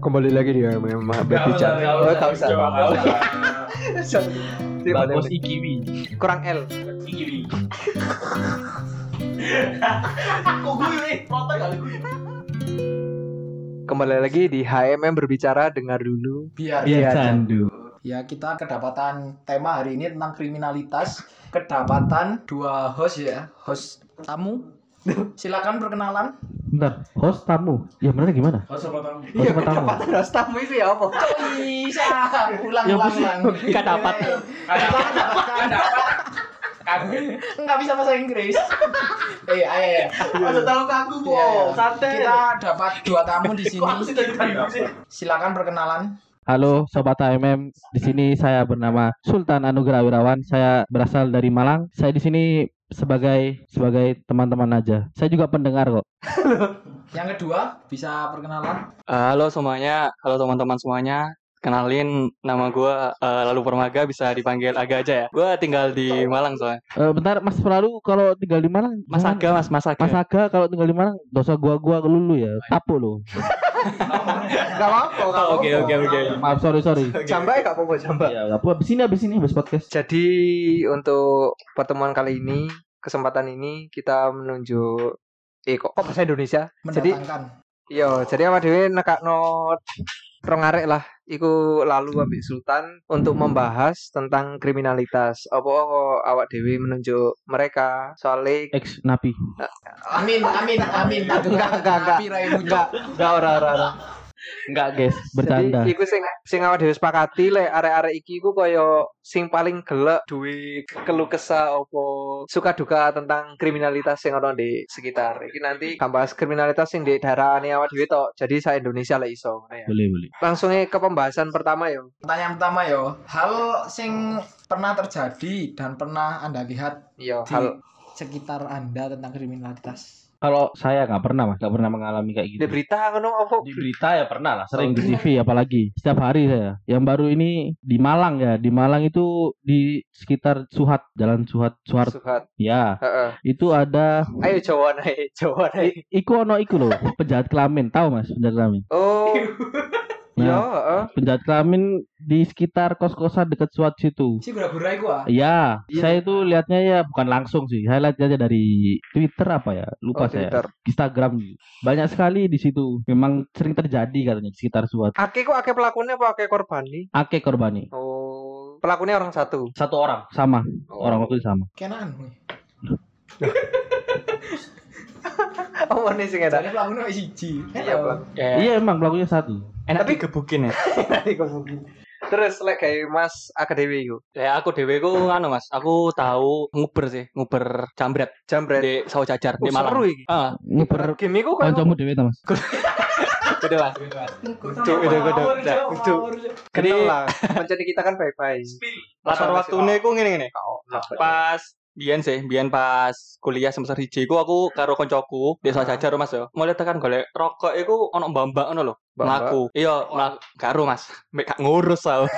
Kembali lagi dia memang berbicara. Enggak usah. Bagus ikiwi. Kurang L. Ikiwi. Kok gue protes kali gue. Kembali lagi di HMM berbicara, dengar dulu. Biar candu. Ya, kita kedapatan tema hari ini tentang kriminalitas. Kedapatan dua host ya, host tamu. Silakan perkenalan. Bentar, host tamu. Ya benar gimana? Host apa tamu? Host apa tamu? Kedapatan host tamu itu ya apa? Bisa. Ulang. Enggak dapat. Enggak bisa bahasa Inggris. Ayo. Masa tahu kaku kok. Santai. Kita dapat dua tamu di sini. Silakan perkenalan. Halo sobat HMM, di sini saya bernama Sultan Anugrah Wirawan. Saya berasal dari Malang. Saya di sini sebagai teman-teman aja. Saya juga pendengar kok. Yang kedua bisa perkenalan. Halo semuanya, halo teman-teman semuanya. Kenalin, nama gue Lalu Permaga, bisa dipanggil Aga aja ya. Gue tinggal di Malang soalnya. Bentar, Mas Lalu kalau tinggal di Malang, Mas Aga, Mas Aga. Mas Aga kalau tinggal di Malang, dosa gua lulu ya, tapu lo. Gak apa-apa. Oke. Maaf, sorry. Sampai gak apa-apa, sampai. Ya, apa abis ini habis podcast. Jadi untuk pertemuan kali ini, kesempatan ini kita menunjuk kok bahasa Indonesia. Mendatangkan. Jadi awak dhewe nekakno rong arek lah iku Lalu ambek Sultan untuk membahas tentang kriminalitas. Apa kok awak dhewe menunjuk mereka soalnya Ex napi. Amin. enggak ora. Enggak, guys, bercanda. Jadi iku sing awak dhewe sepakati lek arek-arek iki iku kaya sing paling gelek duwe keluh kesah apa suka duka tentang kriminalitas yang ana di sekitar. Iki nanti bahas kriminalitas sing di daerahane awak dhewe tok. Jadi sa Indonesia lek iso. Boleh. Langsung ke pembahasan pertama yo. Pertanyaan pertama yo, hal sing pernah terjadi dan pernah Anda lihat Iya, di hal sekitar Anda tentang kriminalitas. Kalau saya nggak pernah mengalami kayak gitu. di berita ngono apa? Di berita ya pernah lah, sering di TV apalagi. Setiap hari saya. Yang baru ini di Malang ya. Di Malang itu di sekitar Jalan Suhat. Ya. Heeh. Itu ada Ayo Jawa naik. iku loh, penjahat kelamin. Tahu Mas, penjahat kelamin? Oh. Nah, heeh. penjahat kelamin di sekitar kos-kosan dekat Suhat situ. Si gura-gura iku ah. Iya, saya itu lihatnya ya bukan langsung sih. Saya lihat aja dari Twitter apa ya? Lupa saya. Twitter. Instagram. Banyak sekali di situ. Memang sering terjadi katanya di sekitar Suhat. Ake pelakunya apa ake korban nih? Ake korbani. Oh, pelakunya orang satu. Satu orang sama. Orang waktu itu sama. Kenan. Oh, ini sing enak. Jadi pelakunya wis siji. Iya, Bang. Iya emang pelakunya satu. Enak tapi gebukin ya. Terus lek kayak Mas Akadewi iku. Ya aku dewe ku anu Mas, aku tahu nguber jambret di Sawo Jajar di Malang. Seru iki. Nguber Game iku kan kancamu dhewe ta Mas. Gede Mas. Jadi lah, mencari kita kan baik-baik. Latar waktune ku ngene. Pas biyen pas kuliah semester 1 iku aku karo koncoku di Sawo Jajar Mas yo. Mulai tekan golek rokok iku ono mbak-mbak ngono lho. Mlaku. Iya, karo Mas. Mek gak ngurus aku.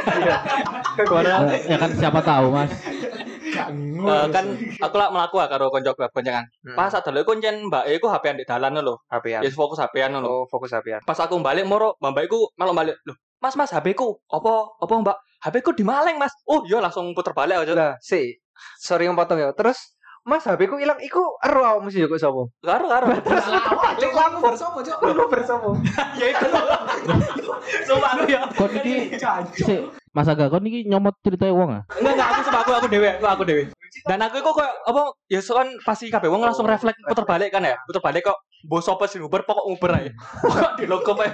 Ya kan siapa tahu Mas. Kan aku lah mlaku karo koncoku boncengan. Pas adole kuncen mbake iku HP-an di dalan lho. HP-an. Ya fokus HP-an lho. Oh, fokus HP-an. Pas aku balik moro, mbak iku malah balik. Loh, Mas HP ku. Apa Mbak? HP ku dimaleng, Mas. Oh, iya langsung puter balik aja. Lah, sorry ngepotong ya. Terus Mas HP ku ilang iku ero awakmu sih kok sapa? Karo. Aku bersama, Cok. Lu bersama. Ya itu. Sumpah aku ya. Kok niki Mas Aga, kok niki nyomot ceritanya wong ah? Enggak, aku sumpah aku dewe. Dan aku kok apa ya soal pasti kabeh wong langsung refleks puter balik kan ya. Puter balik kok bos apa sih nguber pokok nguber ae. Kok di logo apa?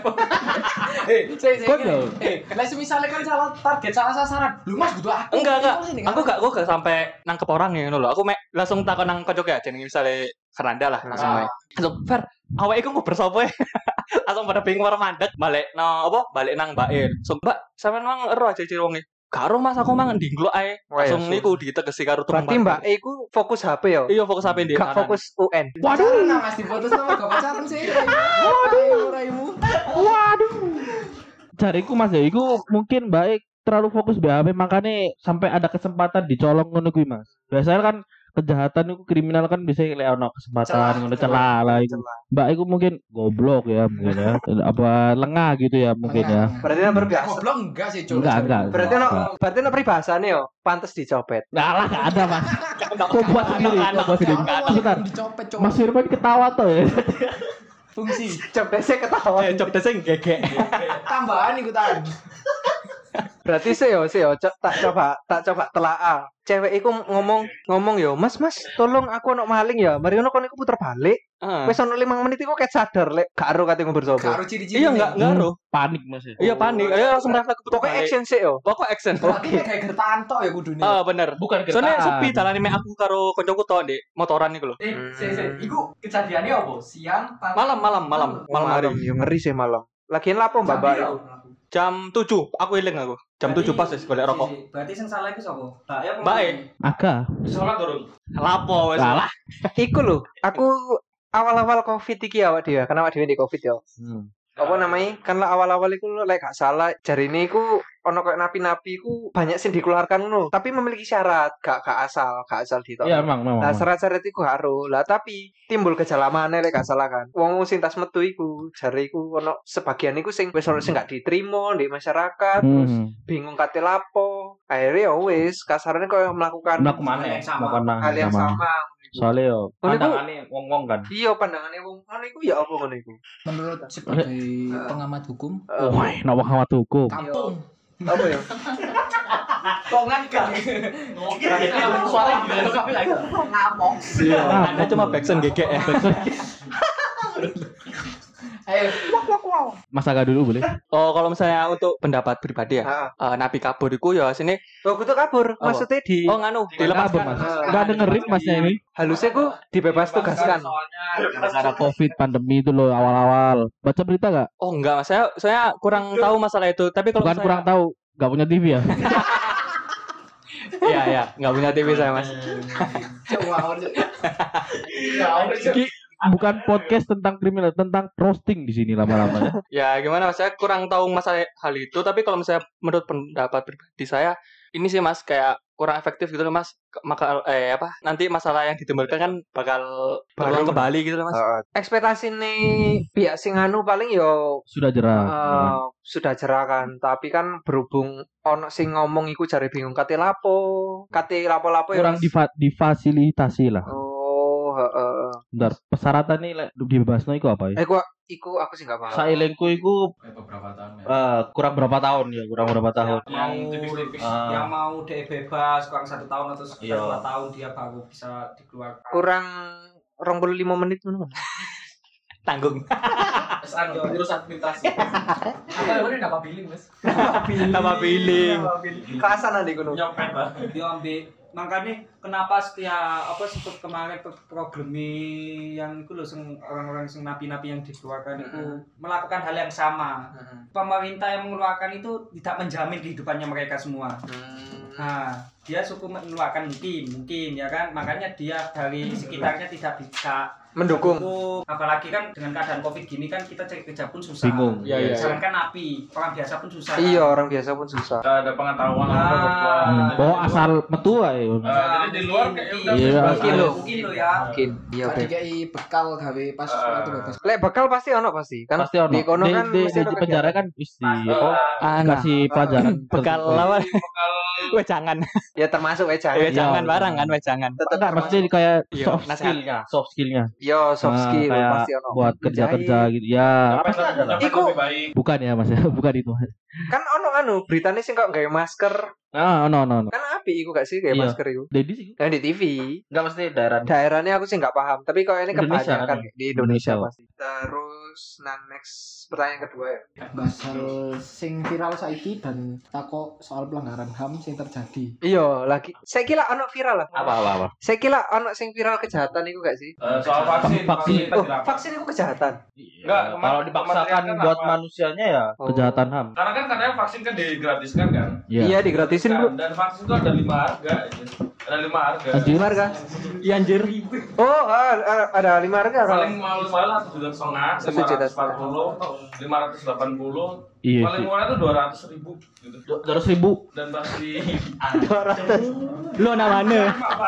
Lah misalnya kan salah target, salah sasaran. Lu Mas butuh aku. Enggak. Aku gak sampai nangkep orang ya ngono lho. Aku langsung takon nang kocok ya jenenge misale Fernanda lah langsung wae. Langsung Fer, awake iku nguber sapa? Langsung pada bingung karo mandek balik nang Mbak So Mbak sampean mang ero aja ciri wonge. Karo Mas aku mang ndinglok ae. Langsung niku ditegesi karo teman. Berarti Mbak iku fokus HP ya? Iya fokus HP dia. Gak fokus UN. Waduh, Mas difoto sama gak pacaran sih. Waduh. Jariku Mas ya, iku mungkin baik terlalu fokus BHP makanya sampai ada kesempatan dicolong ngono kuwi Mas. Biasanya kan kejahatan itu kriminal kan biasanya lek ono kesempatan ngono celah lah iku. Mbak iku mungkin goblok ya mungkin ya. Apa lengah gitu ya mungkin ya. Berarti nomor biasa. Goblok enggak sih, Cuk. Enggak. Berarti no peribahasane yo pantes dicopet. Enggak lah, enggak ada, Mas. Kok buat sendiri, kok buat sendiri. Sebentar. Dicopet, Cuk. Mas Firman ketawa tuh ya. Fungsi Copetnya ketawa. Job desk gegek. tambahan ikutan. Berarti sih yo tak coba telaah. Cewek iku ngomong yo, Mas, tolong aku ono maling ya. Mari ngono kon iku puter balik. Wis ono 5 menit iku ket sadar lek gak ero kate ngobrol sapa. Karo ciri-ciri. Iya enggak ero. Panik Mas. Iya panik. Dia langsung refleks keputar. Pokoknya action sih yo. Pokok action. Oke, kayak gertakan tok ya kudune. Bener. Bukan Soalnya gertakan. sepi dalane mek aku karo koncoku tok Dik, motoran iku lho. Iku kejadiannya apa? Siang, pagi? Malam hari. Yo ngeri sih malam. Lagian lapo Mbak iku? Jam 7 aku eling aku. Jam 7 pas wis golek rokok. Berarti sing salah iku sapa? Mbak ya apa? Mbak e. Aga. Sholat durung. Lapo wis. Salah. Iku lho, aku awal-awal Covid iki awak dhewe, karena awak dhewe di Covid yo. Apa namanya? Kan lah awal-awal iku lek gak salah jarine iku ono koyo napi-napi iku banyak sing dikeluarkan ngono, tapi memiliki syarat, gak asal ditok. Iya emang. Nah, syarat-syarat iku harus. Lah tapi timbul gejala maneh lek gak salah kan. Wong sing tas metu iku jare iku ono sebagian iku sing wis ono sing gak diterima di masyarakat, terus bingung kate lapo. Akhirnya ya wis kasarane koyo melakukan Melakukan hal yang sama. Soalnya yo Ngono iku- pandangannya wong-wong kan. Iya pandangane wong ngono iku ya apa ngono iku? Menurut sebagai pengamat hukum, Wah, nawa kawat hukum. kampung. Apa ya? Kok ngangkat? Suara Ngamong. Ada cuma backsound gegek ya. Ayo. Mas Aga dulu boleh? Oh, kalau misalnya untuk pendapat pribadi ya, napi kabur iku ya sini. Oh, kudu kabur. Maksudnya di Oh, nganu, dilepaskan. Mas. Enggak dengerin Masnya ini. halusnya ku dibebas tugaskan. Gara-gara Covid pandemi itu loh awal-awal. Baca berita enggak? Oh, enggak Mas. Saya kurang tahu masalah itu. Tapi kalau Bukan kurang tahu, enggak punya TV ya. Iya, enggak punya TV saya, Mas. Coba. Ki, bukan podcast tentang kriminal, tentang roasting di sini lama-lama. Ya, gimana Mas? Saya kurang tahu masalah hal itu, tapi kalau misalnya menurut pendapat pribadi saya, ini sih Mas kayak kurang efektif gitu loh Mas. Maka nanti masalah yang ditimbulkan kan bakal berulang kembali gitu loh Mas. Ekspektasi nih pihak sing anu paling yo Sudah jerah. sudah jerah kan, tapi kan berhubung ono sing ngomong iku jare bingung kate lapo ya. Kurang difasilitasi lah. Oh, heeh. Bentar, persyaratan nih lek dibebasno iku apa ya? Iku aku sih enggak paham. Sailengku iku Beberapa tahun ya. kurang berapa tahun ya, kurang berapa tahun. Yang tipis-tipis yang mau dia bebas kurang 1 tahun atau Iya. 2 tahun dia baru bisa dikeluarkan. Kurang 25 menit ngono. Tanggung. Urus administrasi. Apa namanya dapat billing, Mas? Nama billing. Kasan ade ngono. Nyopet lah. Dia ambil makanya kenapa seperti kemarin problemi yang itu loh orang-orang sing napi-napi yang dikeluarkan itu melakukan hal yang sama. Pemerintah yang mengeluarkan itu tidak menjamin kehidupannya mereka semua. Nah, dia cukup mengeluarkan mungkin ya kan, makanya dia dari sekitarnya tidak bisa Mendukung. Apalagi kan dengan keadaan Covid gini kan kita cari kerja pun susah. Bingung. Iya. Sedangkan napi, orang biasa pun susah. Iya, orang biasa pun susah. Gak ada pengetahuan Oh, asal metu ae. jadi di luar kayak udah Iya. Mungkin lo. Mungkin lo ya. Mungkin. Iya, Tadi Beb. kayak bekal gawe pas waktu bebas. Lek bakal pasti ono pasti. Kan Pasti ono. di kono kan Di mesti ada penjara kan mesti apa? Anak Kasih pelajaran bekal lawan. Wejangan. ya termasuk wejangan. Wejangan Iya. barang kan wejangan. Enggak, mesti kayak Iya, soft nasihat. skill-nya, soft skill-nya. Yo soft skill Kayak pasti ono. buat kerja-kerja gitu. Ya, pasti ada lah. Iku- Lebih baik. bukan ya Mas, bukan itu. Kan ono anu beritanya sih kok gawe masker. No. Kan api iku gak sih gawe Iya. masker iku. Dedi sih. Yang di TV. Enggak mesti daerah. Daerahnya aku sih nggak paham, tapi kalau ini Indonesia kebanyakan kan? di Indonesia Indonesia. pasti. Terus next pertanyaan kedua ya. Basal sing viral saiki dan takok soal pelanggaran HAM sing terjadi. Iya, lagi. Saya kira ono viral lah. Apa? Saya kira ono sing viral kejahatan itu gak sih? Soal vaksin. Vaksin. tadi Oh, rapat. vaksin itu kejahatan. Enggak, Kalau dipaksakan Kementerian kan buat apa? manusianya ya Oh. kejahatan HAM. Karena kan katanya vaksin kan digratiskan kan. Iya, digratisin, Bro. Dan vaksin itu ada 5 harga. Ada 5 harga. Anjir. Lima harga. Iya anjir. Oh, ada 5 harga kalau. Paling mahal 1,5 juta, 1,5 juta. 540, 580, Iya Paling sih. murah tuh 200.000 gitu. 200.000. Dan pasti Lo namanya.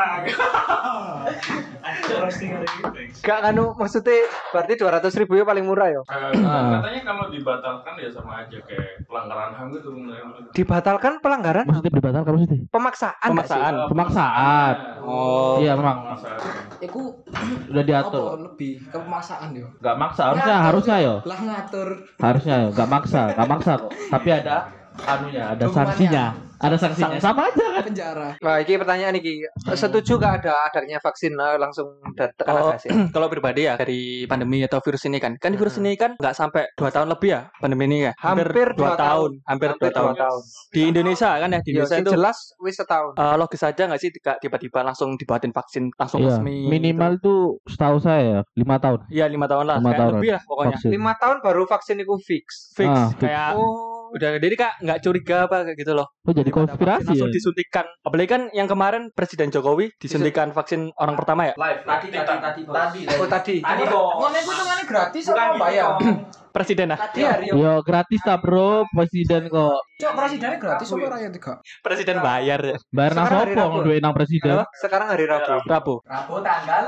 Gak anu maksudnya berarti 200.000 ya paling murah ya. katanya kalau dibatalkan ya sama aja kayak pelanggaran HAM gitu bener. Dibatalkan pelanggaran Maksudnya dibatalkan maksudnya? pemaksaan nggak sih? Pemaksaan. Pemaksaan. Oh. Iya memang Iku udah diatur. apa lebih ke pemaksaan yo. Gak maksa, harusnya yo. Lah ngatur. Harusnya yo, gak maksa kok. Tapi ada anunya, ada Hukumannya. sanksinya. Ada sanksinya. Sama aja kan. Penjara. Nah, ini pertanyaan iki. Setuju gak ada adanya vaksin langsung tekan Oh, sih? kalau pribadi ya dari pandemi atau virus ini kan virus ini kan nggak sampai 2 tahun lebih ya pandemi ini ya Hampir 2 2 tahun hampir 2 tahun di Indonesia kan ya di Ya, Indonesia sing itu jelas wis setahun. logis aja nggak sih tiba-tiba langsung dibuatin vaksin langsung Iya, resmi minimal tuh setahu saya ya 5 tahun. iya 5 tahun lah 5 kayak tahun lebih lah pokoknya vaksin. 5 tahun baru vaksin itu fix. fix Ah, fix. kayak Oh, udah jadi kak nggak curiga apa kayak gitu loh Oh jadi Daripada konspirasi vaksin langsung ya. disuntikan apalagi kan yang kemarin Presiden Jokowi disuntikan vaksin orang pertama ya Live tadi. oh tadi. Ngono iku hitungane gratis Bukan apa gitu, bayar? Bang. presiden lah Tadi hari Yo gratis lah bro, presiden kok. Cok presidennya gratis apa rakyat juga? presiden bayar ya. Bayar nang Sekarang hari sopo Rabu. duwe nang presiden. Apa? Sekarang hari Rabu. Rabu Rabu tanggal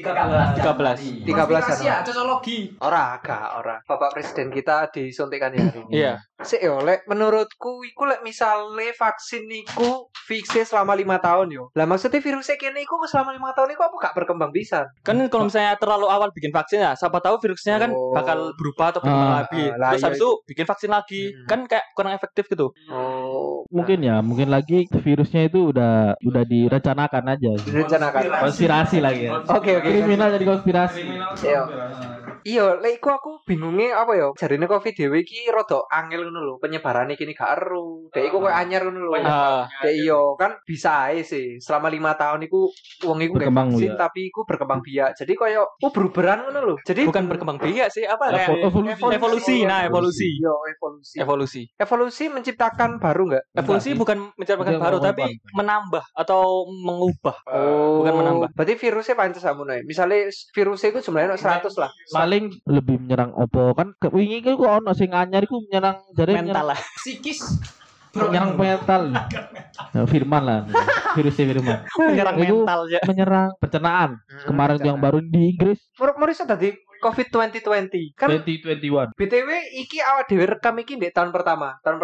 13 13 13 Konspirasi ya, Januari. cocologi. Ora. Bapak presiden kita disuntikan ya hari ini. iya Sik yo lek menurutku iku lek misale vaksin iku fixe selama 5 tahun yo. Lah maksudnya virusnya kene iku selama 5 tahun iku apa gak berkembang bisa? kan kalau misalnya terlalu awal bikin vaksin ya siapa tahu virusnya kan Oh. bakal berubah atau berkembang Ah, lagi lah, terus iya. habis itu bikin vaksin lagi kan kayak kurang efektif gitu Oh, Mungkin lagi virusnya itu udah direncanakan aja. direncanakan. Konspirasi lagi ya. Oke. Kriminal jadi konspirasi. Kriminal Iya. konspirasi. Iya, lek iku aku bingungnya apa ya? Jarine Covid dhewe iki rada angel ngono lho, penyebarane kini gak eru. Dek iku koyo anyar ngono lho. Ah, Dek iya kan bisa ae sih. Selama 5 tahun iku wong iku gak Berkembang vaksin biak. tapi iku berkembang biak. Jadi koyo beruberan ngono lho. Jadi bukan berkembang biak sih apa kayak Evolusi. evolusi Iya, evolusi. evolusi Evolusi menciptakan baru enggak? evolusi bukan menciptakan Dia baru mengubah. tapi menambah atau mengubah Oh, bukan menambah. Berarti virusnya pancen samono ya. Misalnya virusnya itu jumlahnya 100 lah. Paling lebih menyerang opo kan wingi iku kok ono sing anyar iku menyerang jare mental lah Psikis. menyerang mental. Ya, Firman lah. Virusnya Firman. menyerang Itu mental ya menyerang pencernaan. Kemarin tuh yang baru di Inggris Morisa tadi COVID 2020 kan 2021. BTW iki awak dhewe rekam iki di tahun pertama tahun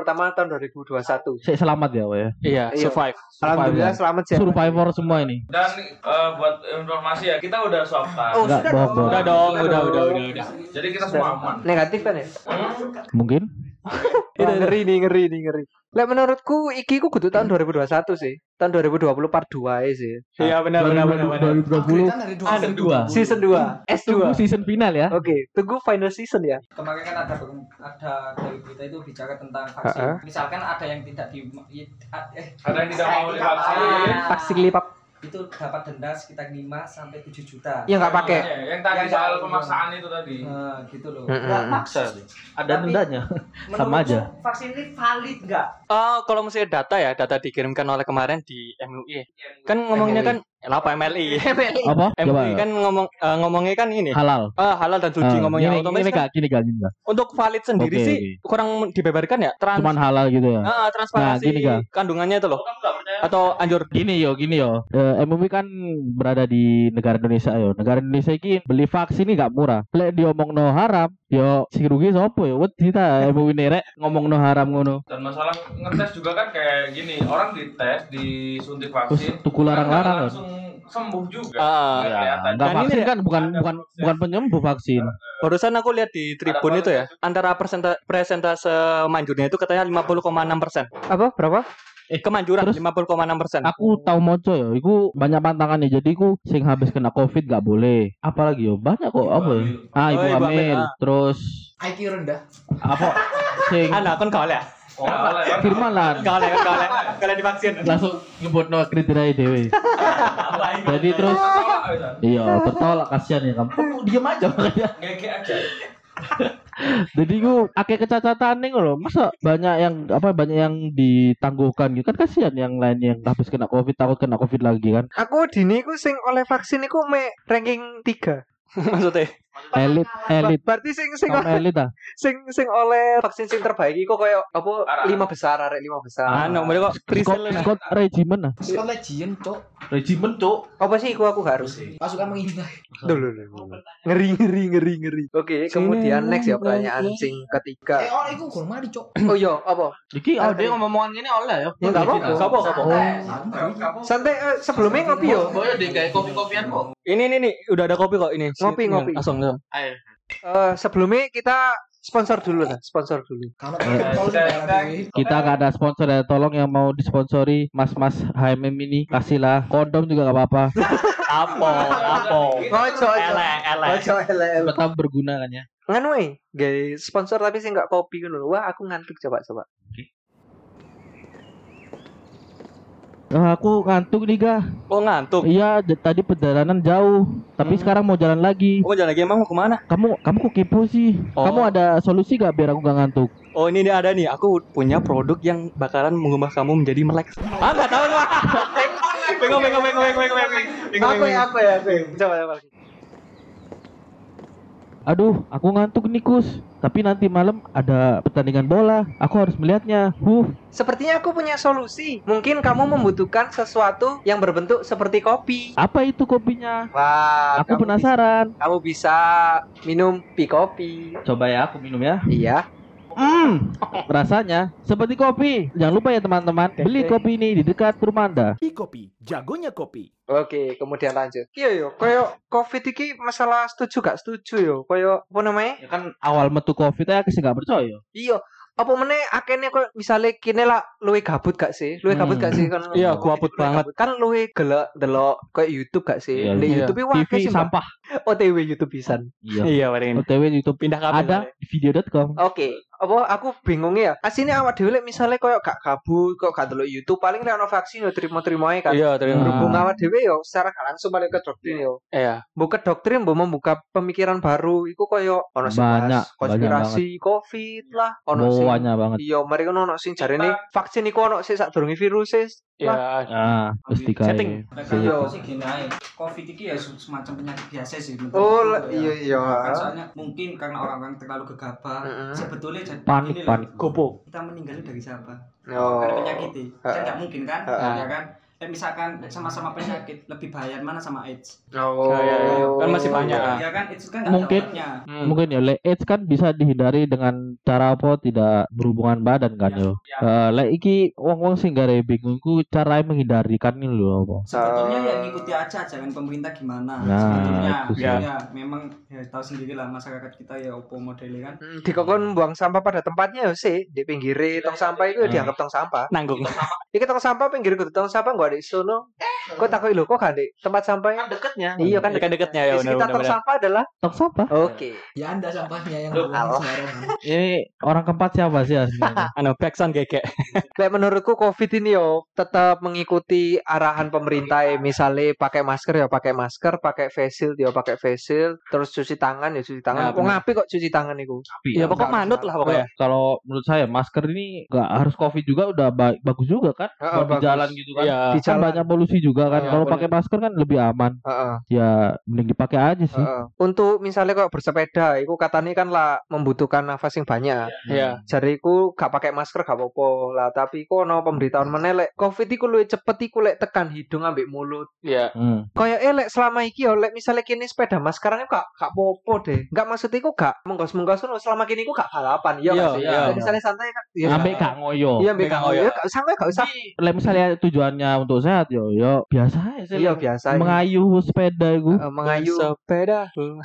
2021. Saya selamat ya, Wak ya. iya Iya. survive Alhamdulillah ya. selamat ya. Survivor semua ini. Dan buat informasi ya, kita udah swab Oh, test. Enggak, bohong. udah dong udah Jadi kita semua aman. Negatif kan ya? Mungkin Wah, ngeri nih. Lek menurutku iki ku kudu tahun 2021 sih. Tahun 2020 part 2 ae sih. iya benar 2020 Upgradean dari ada 2 Season 2, Tunggu S2. season final ya. Oke, tunggu final season ya. Kemarin kan ada dari berita itu bicara tentang vaksin. Ha-ha. Misalkan ada yang tidak Ada yang tidak mau divaksin. Vaksin lipap itu dapat denda sekitar 5 sampai 7 juta. yang enggak pakai. Yang tadi Yang soal nggak- pemaksaan itu tadi. Nah, gitu loh. Nggak maksa sih. Ada Tapi- dendanya. Sama Menurutmu aja. vaksin ini valid nggak? kalau misalnya data dikirimkan oleh kemarin di MUI kan ngomongnya kan apa MLI Apa? Coba. MUI kan ngomongnya kan ini Halal. halal dan suci ngomongnya ini, otomatis ini kan gak gini gak. untuk valid sendiri Oke, sih oke. kurang dibeberkan ya Cuman halal gitu ya. transparansi Nah, gini, Kak. kandungannya itu loh atau anjur Gini yo. MUI kan berada di negara Indonesia yo. Negara Indonesia ini beli vaksin ini gak murah. Lek diomongno haram, yo si rugi sopo yo. Wedi ta MUI nerek ngomongno haram ngono. Dan masalah ngetes juga kan kayak gini, orang dites, disuntik vaksin, Terus tuku larang-larang kan kan. langsung sembuh juga. Ah, Nggak kelihatan. Enggak Dan ini vaksin ya, kan bukan penyembuh vaksin. barusan aku lihat di Tribun itu ya antara presentase manjurnya itu katanya 50,6%. Apa? Berapa? Kemanjuran Terus 50,6%. Aku tahu moco yo, iku banyak pantangannya. Jadi iku sing habis kena Covid gak boleh. Apalagi yo banyak kok apa ya? Ah, ibu Oh, ibu hamil. hamil, ah. Terus IQ rendah. apa sing Anak kan kau ya. Firman lah Kalian divaksin. langsung nyebutno kriteria dhewe. Jadi terus iya tertolak kasihan ya kamu. Kok diam aja makanya. Ngeke aja. Jadi ku akeh kecacatan nih loh. Masa banyak yang ditangguhkan gitu kan kasihan yang lain yang habis kena Covid takut kena Covid lagi kan. Aku dini ku sing oleh vaksin iku me ranking 3. Maksudnya Elit. Berarti sing Kaum elit ah. sing oleh vaksin sing terbaik iku koyo apa 5 besar arek 5 besar. Anu, mereka kok presale nah. Scott Regimen ah. Scott Legion, Cuk. Regimen tuh. Apa sih iku aku gak harus. Pasukan mengintai. Dulu. Ngeri. Oke, kemudian next ya pertanyaan sing ketiga. Oh, iku gol mari, Cuk. Oh iya, apa? Iki dia ngomong-ngomongan gini oleh ya. Ya enggak apa-apa. Sopo? Santai sebelumnya ngopi yo. Oh ya deh kayak kopi-kopian kok. Ini udah ada kopi kok ini. Ngopi. Langsung. Ayo. Sebelumnya kita sponsor dulu. Karena tol di Kita gak ada sponsor ya. Tolong yang mau disponsori Mas HMM ini kasihlah kondom juga gak apa-apa. Apa? Ojo. Tetap berguna kan ya. Nganu guys, sponsor tapi sih enggak kopi ngono. Wah, aku ngantuk coba. Aku ngantuk nih ga. Oh ngantuk. Iya, tadi perjalanan jauh, tapi sekarang mau jalan lagi. Oh jalan lagi emang mau kemana? Kamu kok kepo sih? Oh. Kamu ada solusi gak biar aku gak ngantuk? Oh ini ada nih, aku punya produk yang bakalan mengubah kamu menjadi melek. Nggak tahu nggak? Bingung. Aku ya. Coba. Aduh, aku ngantuk nih Kus. Tapi nanti malam ada pertandingan bola. Aku harus melihatnya. Sepertinya aku punya solusi. Mungkin kamu membutuhkan sesuatu yang berbentuk seperti kopi. Apa itu kopinya? Wah, Aku penasaran. Kamu bisa minum kopi. Coba ya, aku minum ya. Iya. Rasanya seperti kopi. Jangan lupa ya teman-teman, beli kopi ini di dekat rumah Anda. Kopi, jagonya kopi. Oke, kemudian lanjut. Iya yo, koyo Covid iki masalah setuju gak setuju yo. Koyo apa namanya? Ya kan awal metu Covid aku sih gak percaya. Iya. Apa meneh akene koyo misale kene lah luwe gabut gak sih? Luwe gabut gak sih kan? Iya, gabut banget. Kan luwe gelek delok koyo YouTube gak sih? Iya, Di iya. YouTube wah TV sih sampah. OTW YouTube pisan. Iya. Iya paling. OTW YouTube Pindah kabel. ada di video.com. Oke, apa aku bingungnya ya. Asine awak dhewe lek misale koyo gak gabut, kok gak delok YouTube, paling lek ono vaksin yo trimo-trimo ae kan. Iya, terima. Berhubung awak dhewe yo secara gak langsung balik ke doktrin yo. Iya. Buka doktrin mbok membuka pemikiran baru iku koyo ono sing Banyak, bahas konspirasi Covid lah, ono sing Banyak banget. iya, mari ono sing jarene vaksin iku ono sik sadurunge virus Iya. Ah, mesti Setting. kayak. Kalau sih gini aja, COVID ini ya semacam penyakit biasa sih. Oh, menurutku ya. iya. Kan soalnya mungkin karena orang-orang terlalu gegabah, sebetulnya jadi Panik, gini loh, panik. Gopo. kita meninggalnya dari siapa? Oh. Karena penyakit ini, kan nggak mungkin kan? Heeh. Ya kan? Misalkan sama-sama penyakit, lebih bahaya mana sama AIDS? Oh. Iya. Kan masih banyak. Ya kan, AIDS kan nggak ada Mungkin. obatnya. Mungkin ya AIDS kan bisa dihindari dengan cara apa tidak berhubungan badan kan yo. Lek iki wong-wong sing gare bingungku cara menghindari kan ini lho apa. Sebetulnya ya ngikuti aja jangan pemerintah gimana. Nah, Sebetulnya itu sih. ya memang ya tahu sendiri lah masyarakat kita ya opo modelnya kan. Dikongkon buang sampah pada tempatnya ya sih di pinggire tong sampah itu dianggap tong sampah. Nanggung. Iki tong sampah pinggir kudu tong sampah gak ada sono. Kok takoki lho kok gak ada tempat sampahnya? Dekatnya. Iya kan Dekat-dekatnya ya di sekitar tong benar-benar. sampah adalah Tong sampah. oke. Ya Anda sampahnya yang Loh, buang Allah. sembarangan. Ini orang keempat siapa sih aslinya? Anu backsound gegek. Kayak menurutku Covid ini yo tetap mengikuti arahan pemerintah ya. Misalnya pakai masker ya pakai masker, pakai face shield ya pakai face shield, terus cuci tangan ya cuci tangan. Ya, Kok benar. ngapi kok cuci tangan itu? Ya pokok manut lah pokoknya. Kalau menurut saya masker ini nggak harus Covid juga udah bagus juga kan. Heeh, Buat di bagus. jalan gitu kan. Iya. Di Kan jalan. banyak polusi juga kan. Iya, Kalau bener. pakai masker kan lebih aman. Heeh. Ya mending dipakai aja sih. Heeh. Untuk misalnya kok bersepeda, iku katanya kan lah membutuhkan nafas yang banyak. Iya. Jadi iku gak pakai masker gak apa-apa lah. Tapi iku ono pemberitahuan menelek Covid iku luwih cepet iku lek tekan hidung ambek mulut. Iya. Kayak lek selama iki yo lek misalnya kini sepeda maskeran iku gak apa-apa deh. Gak maksud iku gak menggos-menggos ngono selama kini iku gak balapan. Iya Iya, gak sih? iya. Jadi misalnya santai kan. Iya. Ambek gak ngoyo. Iya ambek Ambek gak gak ngoyo. ngoyo. Gak usah gak usah. Lek misalnya tujuannya untuk sehat yo biasa aja sih. Iya biasa. Mengayuh sepeda itu. Mengayu. Sepeda.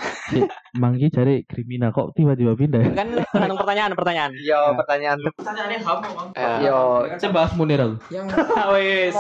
Manggi cari kriminal kok tiba-tiba pindah ya? Kan tergantung pertanyaan. Yo pertanyaan. Pertanyaannya kamu, Bang. Yo Saya bahas Munir aku. Yang Wes.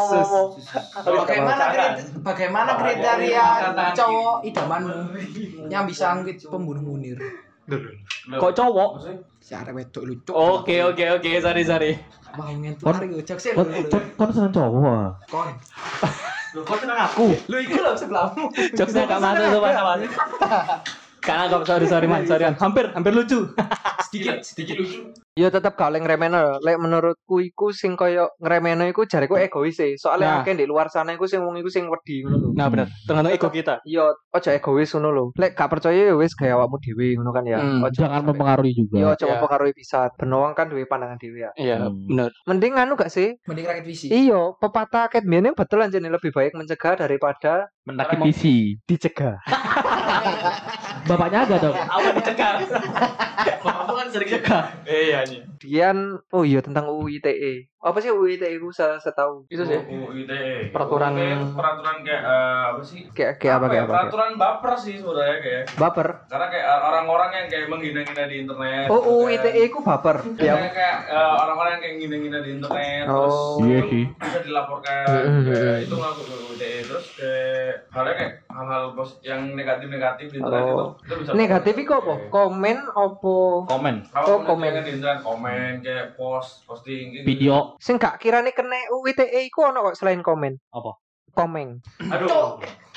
bagaimana kriteria cowok idamanmu yang bisa angkit pembunuh Munir? Kok cowok? Si arek wedok lucu. Oke. Sorry. Mau ngentot iki cok sih. Kon seneng cowok ah. Kon. Kau tenang aku. Lu iki lho sebelahmu. Jokesnya gak masuk sopan. Karena kok sorry man. Hampir lucu. sedikit lucu. Ya tetep gak oleh ngremeno. Lek menurutku iku sing koyo ngremeno iku jariku egois sih. Soalnya Nah. akeh di luar sana iku sing wong iku sing wedi ngono lho. Nah, bener. Tergantung ego kita. Iya, ojo egois ngono lho. Lek gak percaya ya wis gawe awakmu dhewe ngono kan ya. Ojo Jangan sampai- mempengaruhi juga. Iya, ojo Ya. mempengaruhi pisan. Ben wong kan duwe pandangan dhewe ya. Iya, Hmm. bener. Mending anu gak sih? Mending rakit visi. Iya, pepatah ket biyen betul anjene lebih baik mencegah daripada Mendaki visi. dicegah. Bapaknya ada dong. Apa dicegah? Bapakmu kan sering cegah. Iya nih. Dian, oh iya tentang UU ITE. Apa sih UU ITE ku setahu? Itu sih. UITE. Peraturan- peraturan kayak apa sih? Kayak apa kayak apa? Peraturan baper sih sebenarnya kayak. Baper. Karena kayak orang-orang yang kayak menghina-hina di internet. Oh, UU kayak- ITE ku baper. Kayak orang-orang yang kayak ngina-ngina di internet Oh. terus Iya itu sih. bisa dilaporkan kayak itu ngelakuin UITE terus kayak halnya kayak hal-hal yang negatif di internet itu bisa Negatif iku apa? Komen opo? Komen. kalau komen. di internet komen kayak posting gitu. Video. Sing gak kirane kena UU ITE iku ono kok selain komen. Apa? Komeng. Aduh.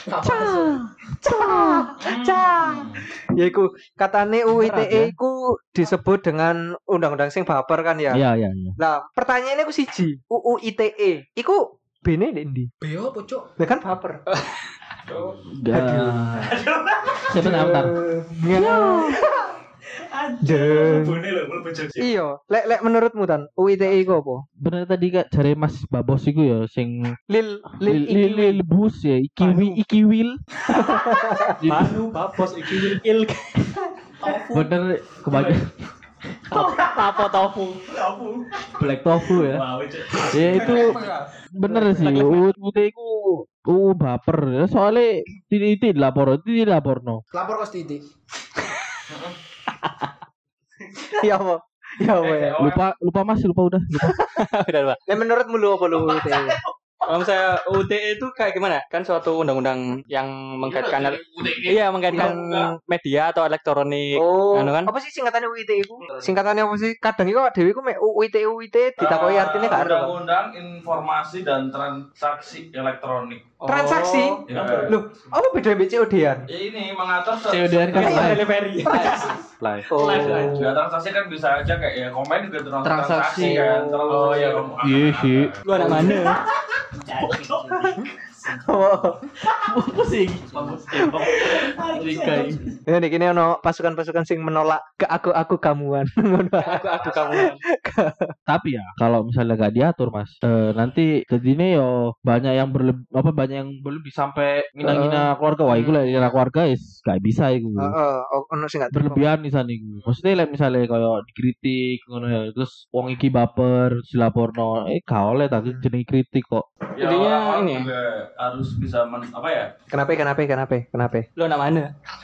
Ya iku katane UU ITE iku disebut dengan undang-undang sing baper kan ya. Iya, iya, iya. Lah, pertanyaannya ku siji, UU ITE iku bene ndek ndi? Beo apa, Cuk? Lah kan baper. Sebentar. Bone lho, mlebu jogja. Iya, lek menurutmu tan UU ITE iku apa? Bener tadi kak cari Mas Babos iku ya sing Lil lil bus ya ikiwil. Manu babos iki il. Bener kebanyakan Apa tofu? black tofu ya. Wow, Cuk. Ya itu bener sih. UT iku baper ya soalnya tidak dilaporno. Lapor kos titik. Ya apa? Ya apa ya? Lupa Mas, lupa udah. Udah, Pak. Lek menurutmu lu apa lu UU ITE? Kalau misalnya UTE itu kayak gimana? Kan suatu undang-undang yang mengkaitkan iya mengkaitkan media atau elektronik. Oh, Anu kan? apa sih singkatannya UU ITE iku? Singkatannya apa sih? Kadang iku dhewe iku mek UU ITE ditakoki artine gak ero. Undang-undang informasi dan transaksi elektronik. Transaksi? Ya, Loh, apa beda mbek COD-an? ya ini mengatur COD-an kan Iya, live. Delivery. Live. Oh. Ya, transaksi kan bisa aja kayak ya komen juga Transaksi. kan. Oh, iya. Iya sih. Lu anak mana? Pusing. Ya nek kene ono pasukan-pasukan sing menolak ke aku kamuan. Aku kamu. Tapi ya kalau misalnya gak diatur Mas, nanti jadinya yo banyak yang banyak yang berlebih sampai ngina-ngina keluarga. Wah, iku lek ngina keluarga is gak bisa iku. Heeh, ono sing gak Berlebihan di sana iku. Maksudnya lek misalnya kayak dikritik ngono ya, terus wong iki baper dilaporno, gak oleh ta jenenge kritik kok. Ya, Intinya orang-orang ini. juga harus bisa apa ya? Kenapa? Lu anak mana?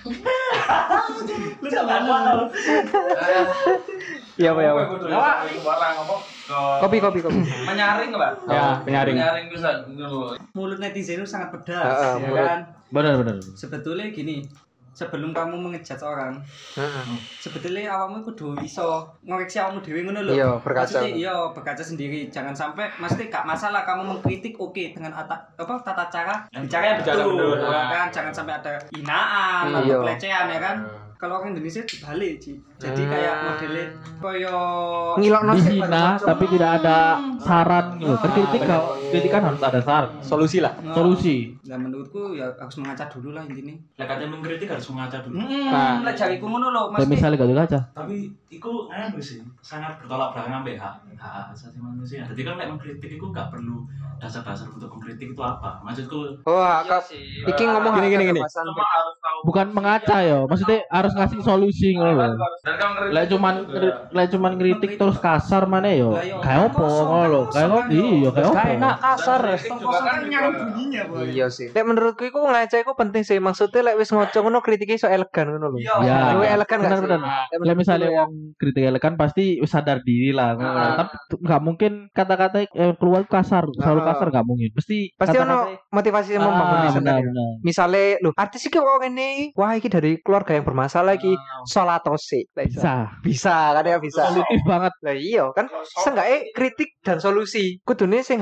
Lu sama mana? Iya apa ya? Apa kudu itu barang apa ke Kopi. menyaring lah. Ya, penyaring. Menyaring bisa gitu. Mulut netizen itu sangat pedas, Heeh, ya mulut. kan? Benar. Sebetulnya gini, sebelum kamu mengejat orang, Heeh. sebetulnya awakmu kudu iso ngoreksi awakmu dhewe ngono lho. Iya, berkaca. Maksudnya iya, berkaca sendiri. Jangan sampai mesti gak masalah kamu mengkritik oke dengan tata cara bicara yang Bicara betul, betul. ya kan? Jangan sampai ada hinaan atau Iya. pelecehan ya kan? Kalau orang Indonesia dibalik, Ci. Jadi kayak modelnya koyo Ngilokno sih Dihina tapi tidak ada saran gitu. Kritik kan harus ada saran. Solusi lah. Solusi. Nah, menurutku ya harus mengaca dulu lah intinya. Lah katanya mengkritik harus mengaca dulu. Nah. Lek jariku ngono lho, Kayak mesti misalnya gak kaca. Tapi iku sih sangat bertolak belakang ambek hak asasi manusia. Jadi kan lek mengkritik iku gak perlu dasar-dasar untuk mengkritik itu apa? Maksudku Wah, Iya kak, sih. iki ngomong Gini. kebebasan. Cuma harus tahu. Bukan mengaca ya, maksudnya harus ngasih solusi ngono lho. Dan kalau ngeritik Lek cuman kritik terus kasar mana yo. Lah, yo, Kayak opo kosong, ngono lho. kosong Kayak kan, opo? yo. Iya, kayak opo. Gak enak kasar. kritik juga kan nyari bunyinya, Boy. Iya sih. Lek menurutku iku ngaca iku penting sih. Maksudnya lek wis ngoco ngono kritike iso elegan ngono lho. Ya, Luwih elegan gak sih? benar. Lek Lah misalnya menurutku ya. wong kritik elegan pasti sadar diri lah. Tapi nggak mungkin kata-kata yang keluar kasar, selalu kasar nggak mungkin. Pasti ono motivasi yang membangun di sana. Ya. benar. Misalnya, loh artis iki kok ngene, wah iki dari keluarga yang bermasalah iki, solatose. Lah, Bisa. Kan ya bisa. Positif banget. Lah iya kan seenggaknya kritik dan solusi. Kudune sing hype sing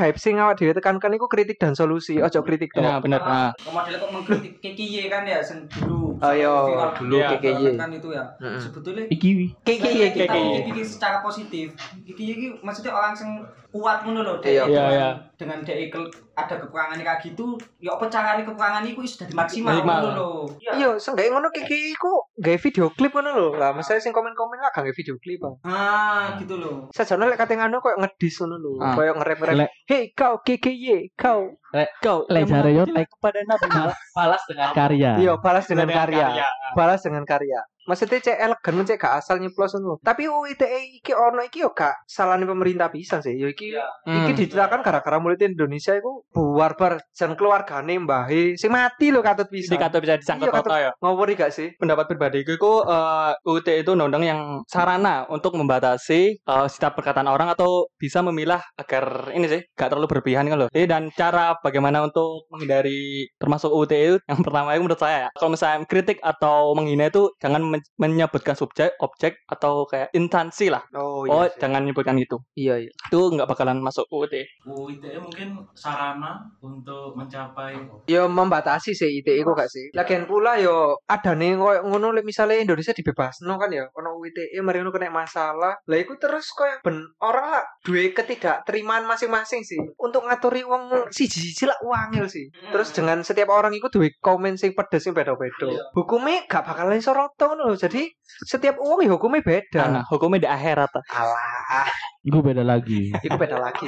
awak dhewe tekankan iku kritik dan solusi, ojo kritik tok. Nah, bener. Nah, Model kok mengkritik KKY kan ya sing dulu. Ayo, viral dulu ya, KKY. kan itu ya. Sebetulnya Iki KKY kita KKY. pikir secara positif. KKY iki maksudnya orang sing kuat ngono lho. Iya, iya. Dengan dia ada kekurangannya kayak gitu, ya apa caranya kekurangan itu sudah dimaksimal Maksimal. ngono lho. Iya, seenggaknya ngono KKY iku gawe video klip ngono lho. Lah, misalnya sing komen-komen lah gawe video klip. Gitu loh. Sajane lek kate ngono koyo ngedis ngono lho, Ah. koyo nge-rap-rap. Lek- Hey kau KKY, kau. kau Lek yang jare yo mengabdi kepada Nabi balas dengan karya. Iya, balas dengan Dengan karya. karya. Balas dengan karya. Maksudnya cek elegan cek gak asal nyeplos ngono. Tapi UITE iki ono iki yo gak salahne pemerintah pisan sih. Yo iki iki diceritakan gara-gara mulut Indonesia iku buar-bar jan keluargane mbahe sing mati lho katut pisan. Dikata bisa disangkut Iya, katut- foto ya. Ngawuri gak sih? Pendapat pribadiku itu UUT itu undang-undang yang sarana untuk membatasi setiap perkataan orang atau bisa memilah agar ini sih gak terlalu berlebihan kan loh. Jadi dan cara bagaimana untuk menghindari termasuk UUT itu yang pertama itu menurut saya ya. Kalau misalnya kritik atau menghina itu jangan menyebutkan subjek, objek atau kayak instansi lah. Oh Oh, iya. jangan menyebutkan gitu. Iya iya. Itu nggak bakalan masuk UUT. UITE mungkin sarana untuk mencapai Yo membatasi sih ITE iku gak sih. Lagian pula yo adane koyo ngono lek misale Indonesia dibebasno kan ya. Ono UITE mari ngono kena masalah. Lah iku terus koyo ben orang lah duwe ketidakterimaan masing-masing sih. Untuk ngaturi wong siji-siji lah wangil sih. Terus dengan setiap orang iku duwe komen sing pedes sing beda-beda. Hukumnya gak bakalan soroto ngono lho. Jadi setiap wong ya hukumnya beda. Nah, hukumnya di akhirat. Alah, Itu beda lagi. itu beda lagi.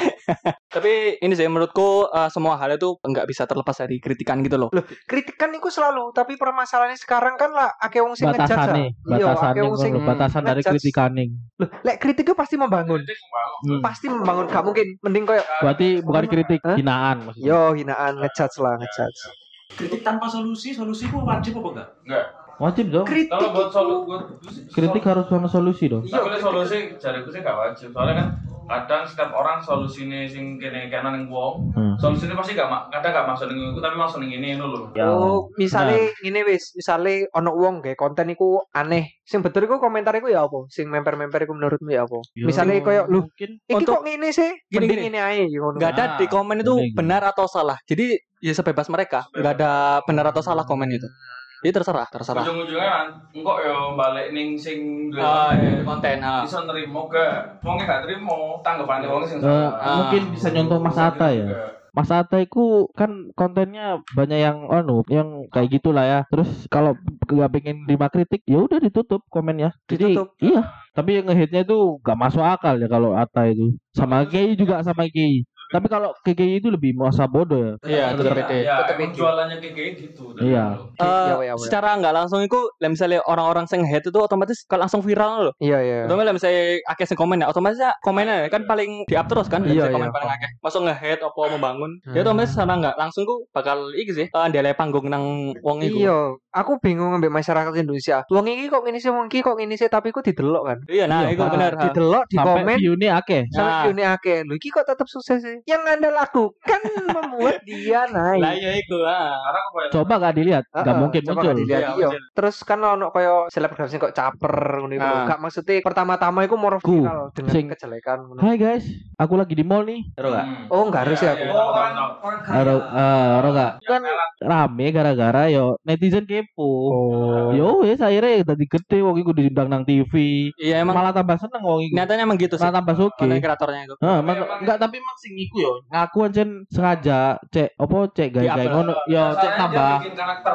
Tapi ini sih menurutku semua hal itu nggak bisa terlepas dari kritikan gitu loh. Loh, kritikan iku selalu, tapi permasalahannya sekarang kan lah akeh wong sing ngejudge. Batasane, Iya, akeh batasane wong sing ngono, batasan dari ngejudge. kritikaning. Loh, lek kritik itu pasti membangun. Pasti membangun, gak mungkin mending koyo Berarti bukan kritik, Hah? hinaan maksudnya. yo hinaan ngejudge lah, ngejudge. kritik tanpa solusi itu wajib apa enggak? Enggak. Wajib dong. Kritik Kalau buat itu Kritik harus sama solusi dong. Tapi lek solusi jariku sih gak wajib. Soalnya kan kadang setiap orang solusine sing kene kanan ning wong, solusine pasti kadang gak masuk ning iku tapi masuk ning ngene ngono lho. Ya. Oh, misale ngene wis, misale ono wong gawe konten iku aneh. Sing betul iku komentar iku ya apa? Sing memper-memper iku menurutmu ya apa? Yo. Misale koyo lu mungkin iki Untuk- kok ngene sih? Gini, Mending gini. ngene ae ngono. Nggak ada di komen itu Bener. benar atau salah. Jadi ya sebebas mereka. Nggak ada benar atau salah komen itu. Jadi terserah. Ujung-ujungnya kan engkok yo balik ning sing duwe Konten. iso nerimo gak? Wong gak trimo, tanggapane wong sing mungkin bisa nyontoh Mas Atta ya. Mas Atta itu kan kontennya banyak yang yang kayak gitulah ya. Terus kalau nggak pengen terima kritik, ya udah ditutup komennya. Jadi Ditutup. iya. Tapi yang nge-hate-nya itu gak masuk akal ya kalau Atta itu. Sama Kei juga sama Kei. Tapi kalau KKI itu lebih masa bodoh ya. Iya, tetap beda. Ya, Tetep emang beda. jualannya kayak gitu. Iya. Secara nggak langsung itu, misalnya orang-orang yang hate itu otomatis kalau langsung viral loh. Iya iya. Otomatis misalnya akeh sing komen ya, otomatis ya komennya kan paling di up terus kan. Iya, Misalnya komen iya. paling akeh. Masuk nge-hate apa membangun. Ya otomatis secara nggak langsung ku bakal iki sih. Ndele panggung nang wong iku. Iya, aku bingung ambek masyarakat Indonesia. Wong iki kok ngene sih, wong iki kok ngene sih, tapi ku didelok kan. Iya, nah Iya, itu Pak. benar. Didelok, di Sampai komen, view-nya akeh. sampai Nah. view-nya akeh. Lho iki kok tetap sukses sih. Yang Anda lakukan membuat dia Lah naik. iya iku. Karena aku banyak Coba gak dilihat, gak mungkin Coba muncul. gak dilihat, Iya, iya. muncul. Terus kan ono koyo selebgram sing kok caper ngono iku. Ah. Gak maksudnya pertama-tama iku mau Ku, viral dengan sing- kejelekan ngono. Hai guys, aku lagi di mall nih. Taruh gak? Oh, enggak harus ya aku. Iya, orang Taruh, taruh gak? Ya, Kan rame gara-gara yo netizen kepo. Oh. Yo wes akhirnya tadi gede wong iku diundang nang TV. Iya emang Malah tambah seneng wong iku. nyatanya emang gitu sih. Malah tambah suki. Konten kreatornya itu. Enggak tapi emang sing iku yo. Ngaku ancen sengaja cek cek gaya-gaya Di-upload. ngono. Yo cek tambah bikin karakter.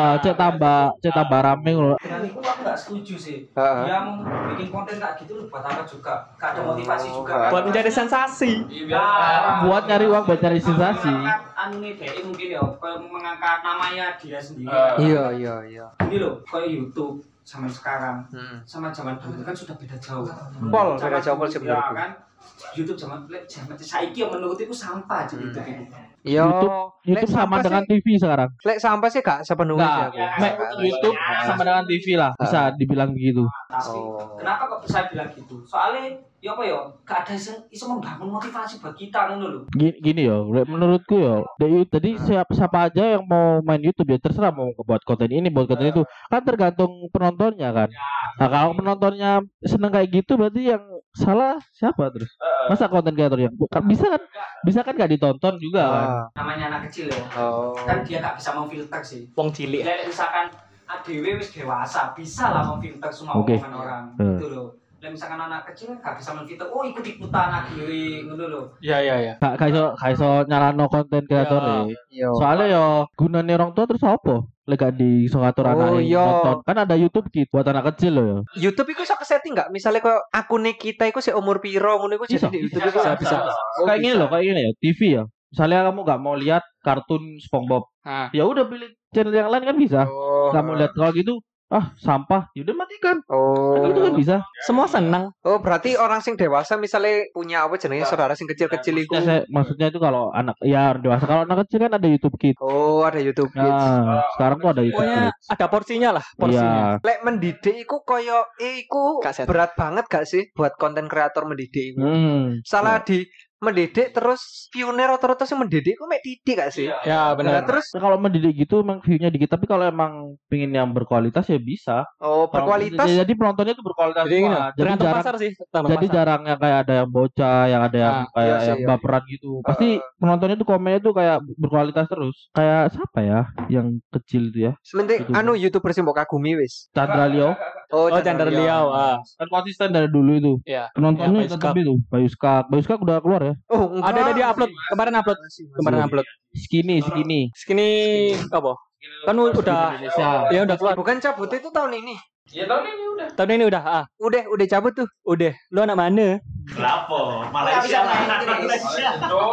cek tambah rame ngono. dengan itu aku nggak setuju sih. Heeh. Dia mau bikin konten kayak gitu loh buat apa juga? Gak ada motivasi juga kan? Buat mencari sensasi. Iya, biar Buat nyari uang buat cari sensasi. Mengangkat anu nih DE mungkin ya, kayak mengangkat namanya dia sendiri. Iya, iya, iya. Ini loh, kayak YouTube sama sekarang, Hmm. sama zaman dulu kan sudah beda jauh. Pol, Zaman beda jauh, dulu, sih ya menurutku. kan. YouTube zaman saiki yang menurut itu sampah aja YouTube itu. Iya. YouTube sama dengan TV sekarang. Lek sampah sih gak sepenuhnya sih Enggak, aku. Mek, YouTube sama dengan TV lah. Bisa dibilang begitu. Tapi Oh. kenapa kok saya bilang gitu? Soalnya ya apa ya, gak ada yang iso membangun motivasi buat kita ngono lho. Gini yo, menurutku yo, tadi siapa aja yang mau main YouTube ya terserah mau buat konten ini, buat konten itu, kan tergantung penontonnya kan. Nah kalau penontonnya seneng kayak gitu berarti yang salah siapa terus? Masa konten kreator yang bisa kan nggak ditonton juga kan? Namanya anak kecil ya. Oh. Kan dia gak bisa memfilter sih. Wong cilik. Jadi misalkan ADW wis dewasa, bisa lah memfilter semua Oke. omongan orang. Gitu loh. Lah misalkan anak kecil gak bisa memfilter, oh ikut-ikutan ADW ngono lho. Iya. Gak iso nyalano konten kreator ya. Iya. Soalnya yo gunane orang tua terus apa? Lek gak di iso ngatur Oh, anake iya. nonton. Kan ada YouTube Kids buat anak kecil loh ya. YouTube iku iso kesetting enggak? Misalnya kok akune kita iku sik umur piro ngono iku Bisa, jadi di YouTube iku bisa. Kayak gini loh, kayak gini ya, TV ya. Misalnya kamu gak mau lihat kartun SpongeBob, Ah. ya udah pilih channel yang lain kan bisa. Oh. Gak mau lihat kalau gitu, sampah, yaudah matikan. Oh. Kan itu kan bisa. Semua senang. Oh, berarti orang sing dewasa misalnya punya apa jenenge saudara sing kecil-kecil iku. Maksudnya itu kalau anak ya dewasa, kalau anak kecil kan ada YouTube Kids. Oh, ada YouTube Kids. Nah, sekarang tuh ada YouTube Pokoknya Kids. ada porsinya lah, porsinya. Iya. Lek mendidik iku koyo iku Gak set. berat banget gak sih buat konten kreator mendidik iku? Salah Ya. di mendidik terus pioner otoritas yang mendidik iku mek didik gak sih? Ya Nah, benar. terus Nah, kalau mendidik gitu emang view-nya dikit, tapi kalau emang pingin yang berkualitas ya bisa. berkualitas. Jadi penontonnya itu berkualitas Jadi gini, semua. Jadi tergantung jarang pasar sih. tergantung jadi pasar. jarang yang kayak ada yang bocah, yang ada yang kayak iya sih, yang iya. baperan gitu. Pasti penontonnya tuh komennya tuh kayak berkualitas terus. Kayak siapa ya yang kecil itu ya? Sementing Itu. anu YouTuber sing mbok kagumi wis. Chandra Leo. Oh, Chandra Liao. Kan konsisten dari dulu itu. Iya. Penontonnya Bayu tetap Skak. itu. Bayu Skak udah keluar ya. Oh, enggak. Ada dia upload kemarin upload. Skinny. Skinny apa? Kan udah Indonesia. ya udah keluar. Bukan cabut itu tahun ini. Ya tahun ini udah. Tahun ini udah. Udah cabut tuh. Udah. Lu anak mana? Lapo, Nggak bisa Malaysia. main, Chris. Cok.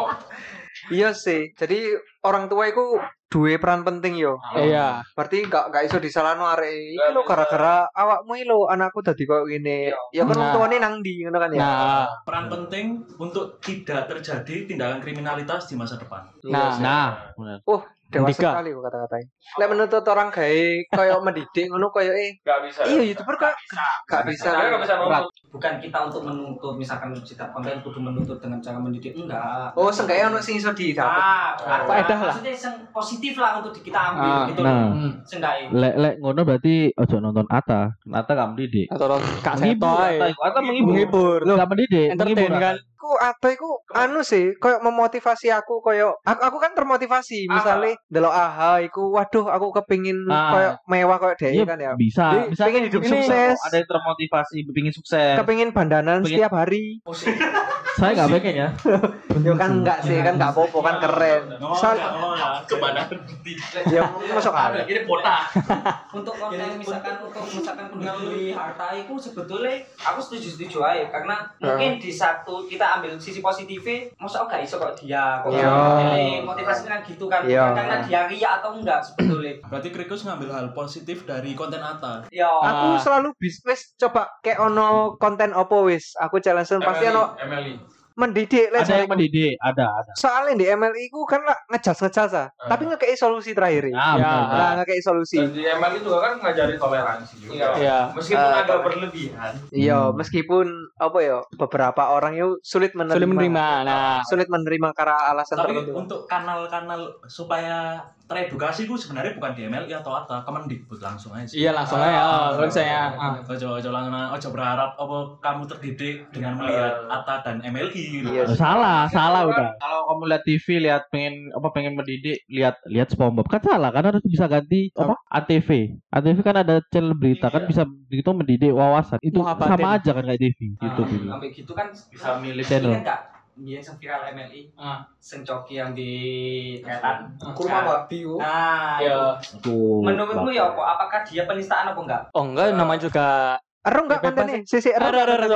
Iya sih. Jadi orang tua iku duwe peran penting yo. Iya. Berarti gak iso disalahno arek iki lho gara-gara awakmu iki lho anakku dadi koyo ngene. Ya kan Nah. tuane nang ndi ngono kan ya. Nah, Peran penting untuk tidak terjadi tindakan kriminalitas di masa depan. nah. Benar. Dewasa Andika. sekali kok kata-katanya. Lek menuntut orang gawe koyo mendidik ngono koyo Gak bisa. iya YouTuber kok gak bisa. Gak bisa Berat. nuntut. Bukan kita untuk menuntut, misalkan setiap konten kudu menuntut dengan cara mendidik, enggak. Oh, seenggaknya ono sing iso didapat. Faedah lah. Maksudnya yang positif lah untuk kita ambil gitu Nah. loh. Seenggaknya. Lek ngono berarti ojo nonton Atta. Atta gak mendidik. Atau Kak Menghibur, Seto Atta ae. iku. Atta menghibur. Gak mendidik, Entertain menghibur, kan. Atta. Aku atau iku anu sih koyo memotivasi aku koyo aku kan termotivasi misalnya delok AHA iku waduh aku kepingin koyo mewah koyo Iya, dhewe kan ya. bisa pengen hidup ini sukses. ada yang termotivasi pengen sukses. Kepingin bandanan Pengen- setiap hari. Saya nggak pengen ya. Ya kan enggak sih, kan enggak apa-apa kan keren. Soal Kepada ya masuk akal. ini botak. Untuk konten misalkan penduli harta itu sebetulnya aku setuju aja karena mungkin di satu kita ambil sisi positifnya, masa gak iso kok dia kok Iya. motivasinya kan gitu kan, Iya. bukan karena dia ria atau enggak sebetulnya. Berarti Krikus ngambil hal positif dari konten Atta. Ya. Aku selalu wis coba kayak ono konten opo wis. Aku challenge pasti ono MLI. mendidik lah. Ada yang mendidik, ada. Soalnya di MLI ku kan lah ngejas ah. Tapi ngekei solusi terakhir. Ah, Ya. benar. Nah, ngekei solusi. Dan di MLI juga kan ngajari toleransi juga. Iya. Meskipun agak berlebihan. Iya, meskipun apa ya beberapa orang itu sulit menerima. Sulit menerima. Nah, Sulit menerima karena alasan Tapi tertentu. untuk kanal-kanal supaya teredukasi itu sebenarnya bukan di MLI atau Atta, Kemendikbud langsung aja. iya langsung aja. Kalau saya Ojo langsung ojo berharap apa kamu terdidik dengan melihat Atta dan MLI gitu. Iya sih. Salah udah. Kalau kamu lihat TV, pengen mendidik, lihat SpongeBob kan salah kan harus bisa ganti apa? ATV. ATV kan ada channel berita kan bisa gitu mendidik wawasan. Itu Muhabbatin. sama aja kan kayak TV YouTube itu. Sampai gitu kan Bisa milih channel. Ingat gak? Dia yang viral MLI, sing coki yang di Ketan. Kurma babi. Nah, ya. Tuh. menurutmu ya apa? Apakah dia penistaan apa enggak? Oh enggak, namanya juga. Ero enggak Bebas kontennya? Sisi ero. Ada.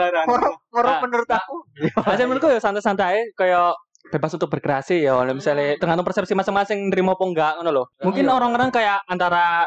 Ngorok Nah. menurut aku. Aja menurutku ya santai-santai kayak bebas untuk berkreasi ya. Misalnya tergantung persepsi masing-masing nerima apa enggak ngono loh. Mungkin orang-orang kayak antara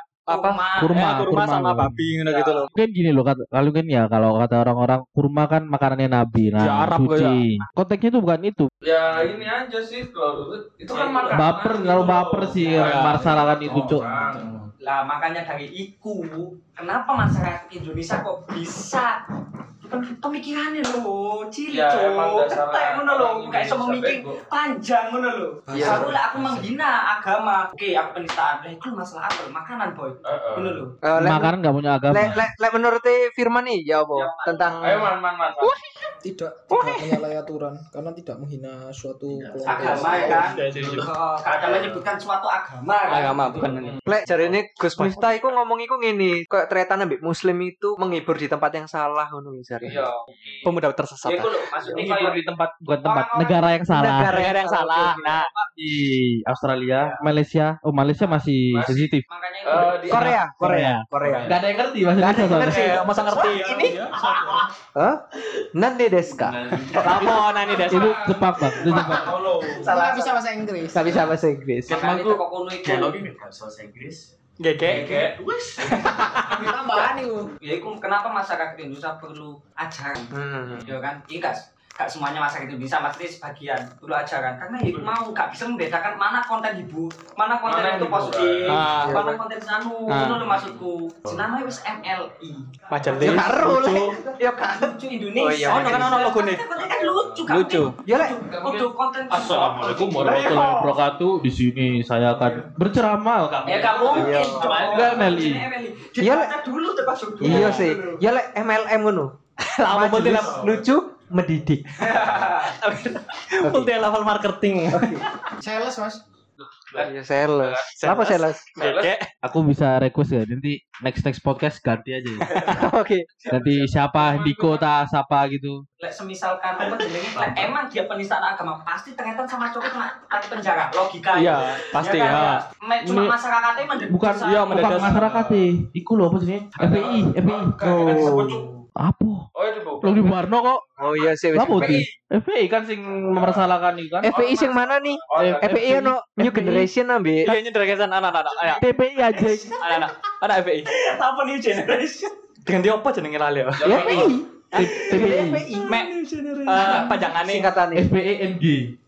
kurma sama babi ngono gitu loh. Mungkin gini loh kalau kata orang-orang kurma kan makanannya Nabi. Nah, Ya, Arab suci. Konteksnya itu bukan itu. Ya ini aja sih kalau itu kan makan. Baper sih Ya. masalah kan itu, Cuk. Lah makanya dari iku, kenapa masyarakat Indonesia kok bisa pemikirannya lho, cilik Ya, emang dasarnya Tetek ngono lho, orang gak iso Indonesia memikir bego. panjang ngono lho. Iya. Aku menghina agama. Oke, aku penistaan. Lah iku masalah apa? Makanan, boy. Ngono lho. Makanan nggak punya agama. Lek menurut Firman nih ya apa tentang Ayo man. Tidak menyalahi aturan karena tidak menghina suatu kelompok. Agama ya kan. Kata menyebutkan suatu agama. Agama bukan ini. lek jarene Gus Miftah iku ngomong iku ngene, kayak tretan ambek muslim itu menghibur di tempat yang salah ngono jare. Iya. Pemuda tersesat. Ya iku lho, maksudnya Menghibur kayak di tempat bukan tempat negara yang salah. Negara yang salah. Nah, Di Australia, Malaysia, Malaysia masih sensitif. makanya Di Korea. Gak ada yang ngerti bahasa Gak ada yang Indonesia. ngerti. masa ngerti ini Hah? Nande desu ka? Apa nani das? Itu Jepang bang, itu Jepang. Salah bisa bahasa Inggris. Gak bisa bahasa Inggris. makanya teko kono iku. Dialognya nggak bahasa Inggris. Gege. Tambahan itu. Ya iku kenapa masyarakat Indonesia perlu ajaran. Ya kan? Iya gak semuanya masyarakat Indonesia, maksudnya sebagian perlu ajaran karena ya iku mau gak bisa membedakan mana konten hibur, mana konten Mana itu hibur, positif, ah. mana konten sanu, ngono lho maksudku. Jenenge wis MLI. Majelis. Ya karo lek. Ya karo. Lucu Indonesia. Oh, iya. Ono kan ono logone. Konten kan lucu kan. Lucu. Ya lek Kudu konten. Assalamualaikum warahmatullahi wabarakatuh. Di sini saya akan berceramah. Ya gak mungkin. Iya. Enggak, Meli. Iya, Dibaca dulu termasuk dulu. iya sih. Ya lek MLM ngono. Lama multi Majelis lucu mendidik. multi level marketing. Sales mas. Ya sales. Kenapa sales? Gege. Aku bisa request ya nanti next podcast ganti aja. Ya. Oke. Ganti siapa Diko ta siapa gitu. Lek semisalkan apa jenenge lek emang dia penistaan agama pasti ternyata sama cowok kena penjara logika. Iya, pasti kan? ya. Cuma Ini- masyarakatnya mendesak. Bukan Iya, bukan mendadak. masyarakat sih. Iku loh apa sih? FPI. Apa? Oh itu bu. Lo di Barno kok. Oh iya sih. Apa tuh? FPI kan sing mempersalahkan itu kan. FPI sing mana nih? FPI ono New Generation ambe. Iya ini dragesan anak-anak. Ayo. TPI aja. Anak FPI. Apa new generation? Dengan dia apa jenenge lali ya? Ya FPI. TPI. Mek pajangan nih. Singkatane. FPING.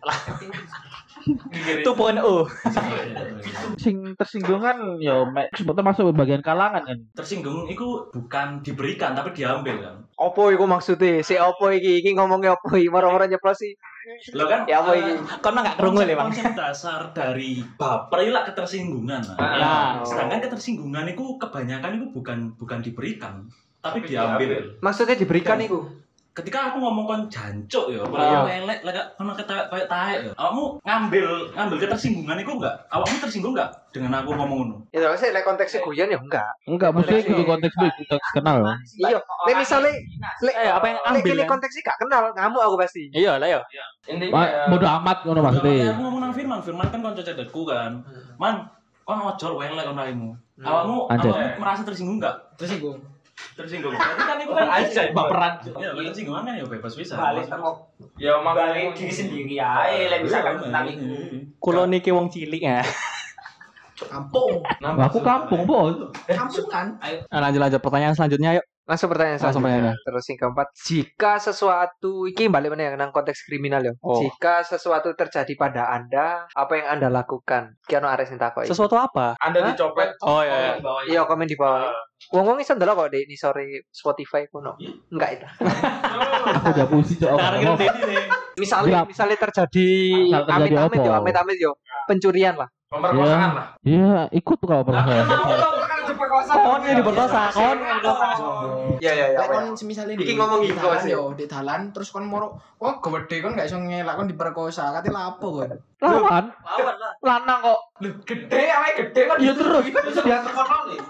Itu poin O. Sing tersinggung kan ya sebetulnya masuk bagian kalangan kan. Tersinggung itu bukan diberikan tapi diambil kan. Opo iku maksudnya? Si opo iki ngomongnya opo iki? Moro-moro nyeplos sih. Lo kan Ya apa iki? Kon mah gak krungu le, Bang. konsep dasar dari baper itu lah ketersinggungan lah. Nah, Sedangkan ketersinggungan itu kebanyakan itu bukan diberikan tapi diambil. Maksudnya diberikan iku. Ketika aku ngomong kon jancuk ya, Iya. lelek lek kono kayak taek ya. Awakmu ngambil ketersinggungan itu enggak? Awakmu tersinggung enggak dengan aku ngomong ngono? Ya tapi lek konteksnya guyon ya enggak. Enggak, maksudnya itu konteks lu konteks kenal. Iya. Lek misale lek apa yang lek ambil ini kan? konteksnya gak kenal, ngamuk aku pasti. Iya lah ya. Intinya ya. Bodoh amat ngono Makanya maksudnya. aku ngomong nang Firman kan konco cedekku kan. Man, kon ojo welek kon raimu. Awakmu Anjir. merasa tersinggung enggak? Tersinggung. Tersinggung. Berarti kan itu kan baperan. Ya, tersinggungan kan ya bebas bisa. Balik teko Ya balik diri sendiri ae lek misalkan tentang iku. Kulo niki wong cilik ya. Kampung. Aku kampung, Bos. Kampungan. Lanjut pertanyaan selanjutnya yuk. Langsung pertanyaan Langsung selanjutnya. pertanyaan. Terus yang keempat, jika sesuatu iki balik mana nang konteks kriminal ya. Oh. Jika sesuatu terjadi pada Anda, apa yang Anda lakukan? Ki ono arek sing takoki. Sesuatu apa? Anda dicopet. Oh iya. Iya, komen di bawah. Wong-wong iso ndelok kok di sore Spotify kuno. Enggak itu. Aku udah pusing cok. Sekarang kita ini nih. Misalnya terjadi Misal terjadi amit-amit apa? yo, amit-amit yo. Pencurian lah. Pemerkosaan lah. Iya, ikut kalau pernah saya. Kon yang diperkosa, kon. Iya. Lek kon semisal ini. Iki ngomong di iki, dalan Bos. yo, di dalan terus kon moro, oh gede kon gak iso ngelak kon diperkosa, kate lapo kon. Lawan, Lawan lah. lanang kok. Gede awake gede kan. Iya terus. Dia terkenal nih.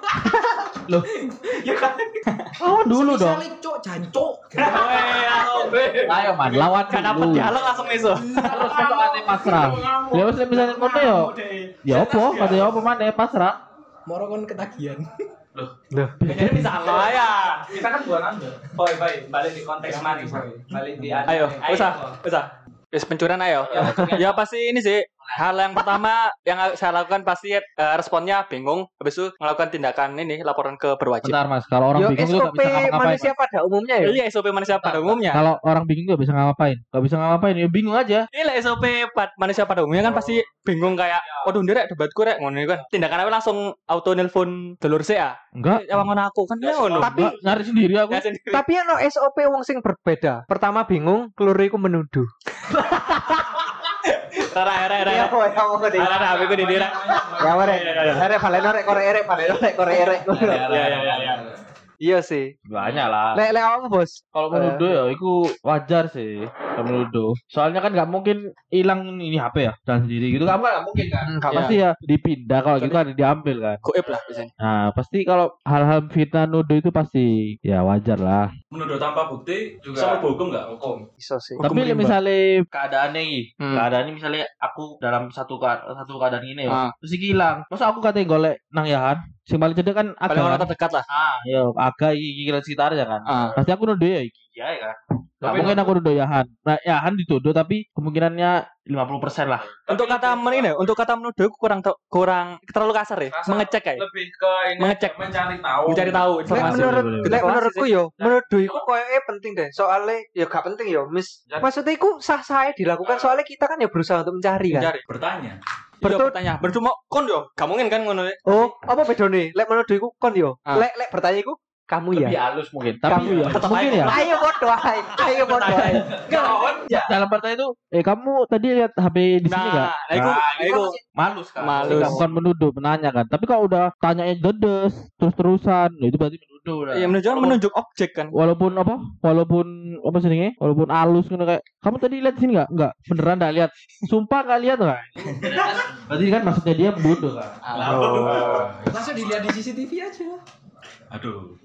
Ya kan. Lawan dulu dong. Semisal cuk jancuk. Ayo man, lawan Gak dapet dulu. dialog langsung iso. Terus besok ate pasrah. Ya wis misalnya ngono yo. Ya opo, kate opo maneh pasrah. Moro kon ketagihan. Jadi bisa lah ya. Kita kan bukan Anda. Boy, balik di konteks mari, boy. Balik di Ayo, usah. Wis pencurian ayo. Ya pasti ini sih Hal yang pertama yang saya lakukan pasti responnya bingung, habis itu melakukan tindakan ini laporan ke berwajib. Bentar Mas, kalau orang Yo bingung tuh nggak SOP bisa ngapa-ngapain. manusia pada umumnya ya. Iya, SOP manusia pada umumnya. Kalau orang bingung nggak bisa ngapa-ngapain, ya bingung aja. Ini lah SOP manusia pada umumnya kan pasti bingung kayak, waduh ndirek debatku rek ngono kan. Tindakan apa langsung auto nelpon dulur saya. Enggak. Ya ngono aku kan ya ngono. Tapi Enggak, nyari sendiri aku. Ya sendiri. tapi ono SOP wong sing berbeda. Pertama bingung, keluru iku menuduh. Rara. Ya mau ngene. Rara aku di dira. Ya mare. Arek balen arek korek erek. Ya. Iya sih. Banyak lah. Lek awakmu bos. Kalau menuduh ya itu wajar sih. Kalau menuduh. Soalnya kan nggak mungkin hilang ini HP ya dan sendiri gitu. Kamu nggak mungkin kan? Enggak Pasti ya dipindah kalau gitu kan diambil kan. Goib lah biasanya. Nah pasti kalau hal-hal fitnah nuduh itu pasti ya wajar lah. Menuduh tanpa bukti Juga. sama hukum nggak? Hukum. Iso sih. Tapi rimba. misalnya keadaannya ini, Hmm. keadaannya misalnya aku dalam satu keadaan ini Ah. ya, terus iki hilang. Masa aku katanya golek nang yahan, sing paling cedek kan Paling agak orang kan? terdekat lah. Ya agak iki sekitarnya kan. Ah. Pasti aku nuduh ya iki ya kan. Gak Tapi mungkin aku nuduh yahan. Nah yahan dituduh tapi kemungkinannya 50% lah. Untuk kata untuk kata menuduh kurang terlalu kasar ya. Kasar. Mengecek ya. Lebih ke ini Mengecek. mencari tahu. Mencari tahu Lek informasi. lek menurutku yo menuduh iku koyoke penting deh. Soalnya ya gak penting yo. Maksudnya iku sah-sah dilakukan soalnya kita kan ya berusaha untuk mencari kan. Mencari. Bertanya. Betul bertanya. Bercuma kon yo. Gak mungkin kan ngono. Oh, apa bedone? Lek menuduh iku kon yo. Ah. Lek bertanya iku kamu ya. Lebih halus mungkin. Tapi Kamu ya. mungkin ya. Ayo podo ae. Ayo podo ae. Dalam pertanyaan itu, kamu tadi lihat HP di sini nggak? Nah, itu Malus kan. Malus. Bukan menuduh, menanya kan. Tapi kalau udah tanyanya dedes, terus-terusan, nah itu berarti menuduh lah. ya menunjuk objek kan. Walaupun apa sih ini? Walaupun halus kan kayak kamu tadi lihat di sini nggak? Nggak, beneran nggak lihat. Sumpah nggak lihat kan? Berarti kan maksudnya dia menuduh kan? Langsung dilihat di CCTV aja. Aduh.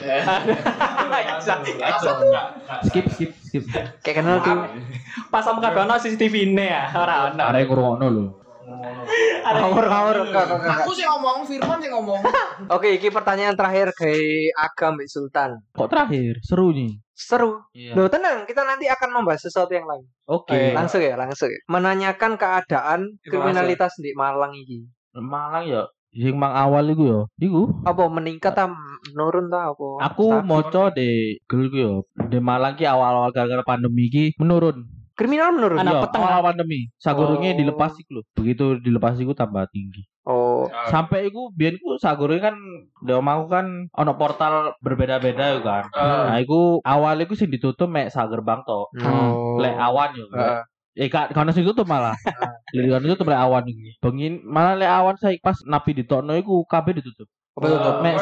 Skip. Kayak kenal tuh. Pas sama kabeh ono CCTV ini ya. Ora ono. Ada yang ngurungokno lho. Ngawur. Aku sih ngomong, Firman sih ngomong. Oke, ini pertanyaan terakhir ke Agam Mbak Sultan. Kok terakhir? Seru nih. Seru. Iya. Loh, tenang, kita nanti akan membahas sesuatu yang lain. Oke. Langsung ya. Menanyakan keadaan kriminalitas di Malang ini. Malang ya. Yang mang awal iku ya. Iku Apa meningkat atau menurun ta apa? aku Stabil. moco di Google ku yo. Di Malang ki awal-awal gara-gara pandemi ki menurun. Kriminal menurun. Anak Iya, peteng. awal pandemi. Sagurunge Oh. dilepas iku lho. Begitu dilepas iku tambah tinggi. Oh, Sampai iku biyen ku sagurunge kan di omahku kan ono portal berbeda-beda yo kan. Nah, iku awal iku sing ditutup mek sagerbang to. Oh. Lek awan yo. Heeh. Gak kono sing tutup malah. Lek kono tutup lek awan iki. Bengi malah lek awan saya pas napi ditokno iku kabeh ditutup. Apa tutup? Mek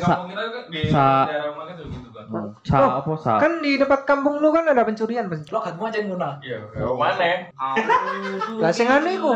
sa Kan di dekat kampung lu kan ada pencurian, Bang. Lo gak mau aja ngono. Iya, mana? Lah sing anu iku.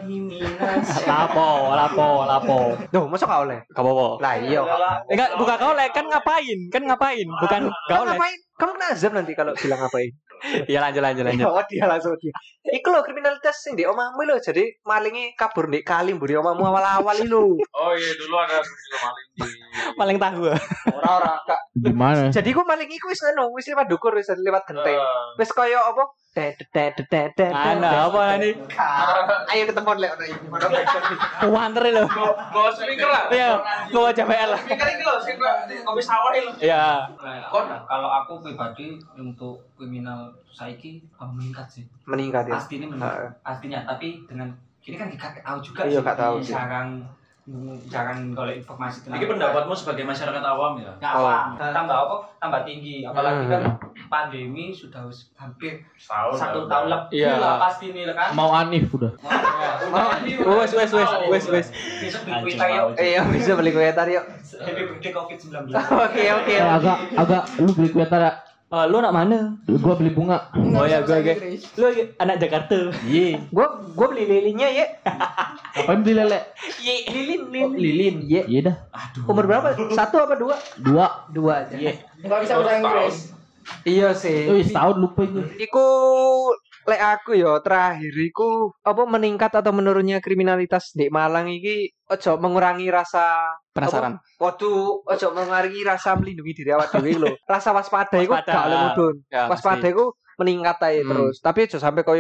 Lapo. Duh, masa gak oleh? Gak apa-apa. Lah iya. Enggak, bukan kau lek kan ngapain? Bukan gak Kamu oleh. ngapain? Kamu kena azab nanti kalau bilang ngapain. Ya lanjut. Oh, dia langsung dia. Iku lho kriminalitas sing di omahmu lho. Jadi malingi kabur di kali mburi omahmu awal-awal iki lho. Oh iya, dulu ada juga maling di Paling tahu. Ora Kak. gimana? Jadi ku maling iku wis anu, wis lewat dukur, wis lewat genteng. Wis koyo apa? Ana apa ini? Ayo ketemu lek ono iki. Wanter lho. Bawa speaker lah. Iya, gua JPL lah. Speaker ini loh, sing kopi sawah ini loh. Iya. Kalau aku pribadi untuk kriminal saiki meningkat sih. Meningkat ya. Pasti ini meningkat. Pastinya, tapi dengan ini kan gak tahu juga Iya, sih. gak tahu sih. Jarang golek informasi Ini pendapatmu sebagai masyarakat awam ya? Nggak awam. Tambah tinggi. Apalagi kan pandemi sudah hampir Setahun. 1 tahun lebih Iya. lah pasti ini kan. Mau Anif udah. Wes. Besok beli kuita yuk. Iya, bisa beli kue tadi yuk. Happy birthday COVID-19. Oke. Agak lu beli kue tara. Lu nak mana? Gua beli bunga. Oh ya, gue. Lu anak Jakarta. Iya. Gua beli lilinnya ya. Ngapain beli lele? Lilin. Iya. Iya dah. Umur berapa? 1 apa 2? 2. 2 aja. Iya. Enggak bisa bahasa Inggris. Iya sih. Oh, setahun lupa itu. Iku lek aku yo terakhir iku apa meningkat atau menurunnya kriminalitas di Malang iki ojo mengurangi rasa Penasaran. Waduh, ojo mengurangi rasa melindungi diri awak dhewe lho. Rasa waspada iku Waspada. gak oleh mudhun. Ya, Waspada iku meningkat ae Hmm. terus. Tapi ojo sampai koyo